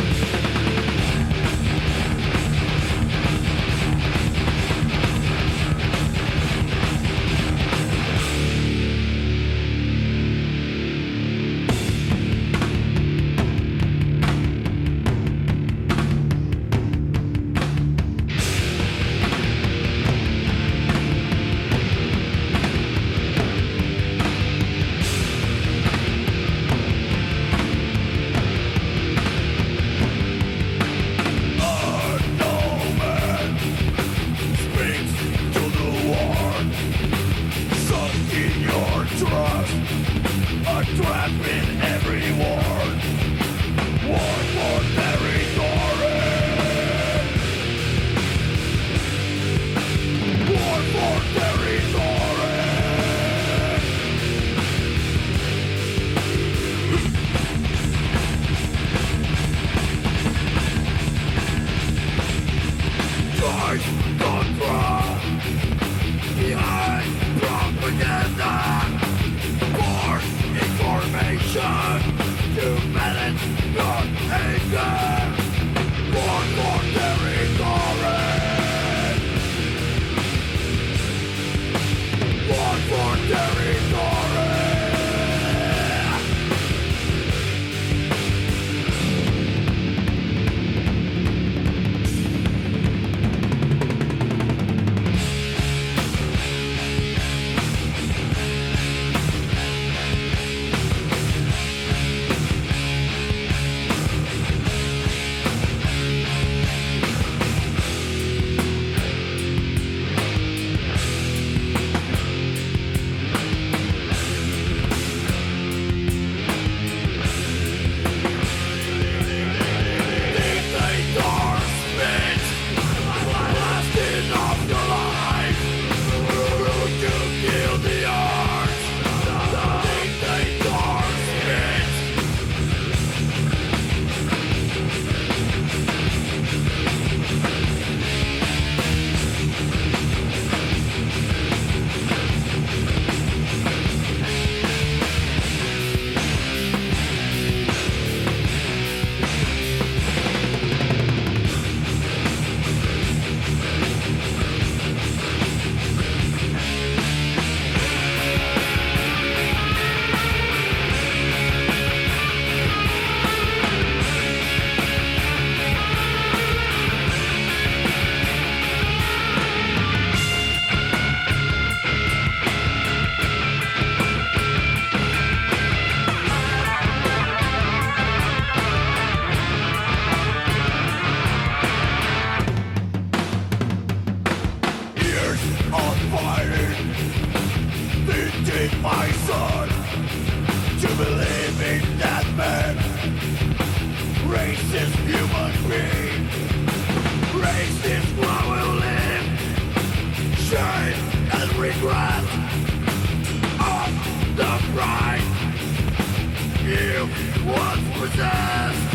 My son, to believe in that man, racist human being, racist while we live. regret of the pride you once possessed.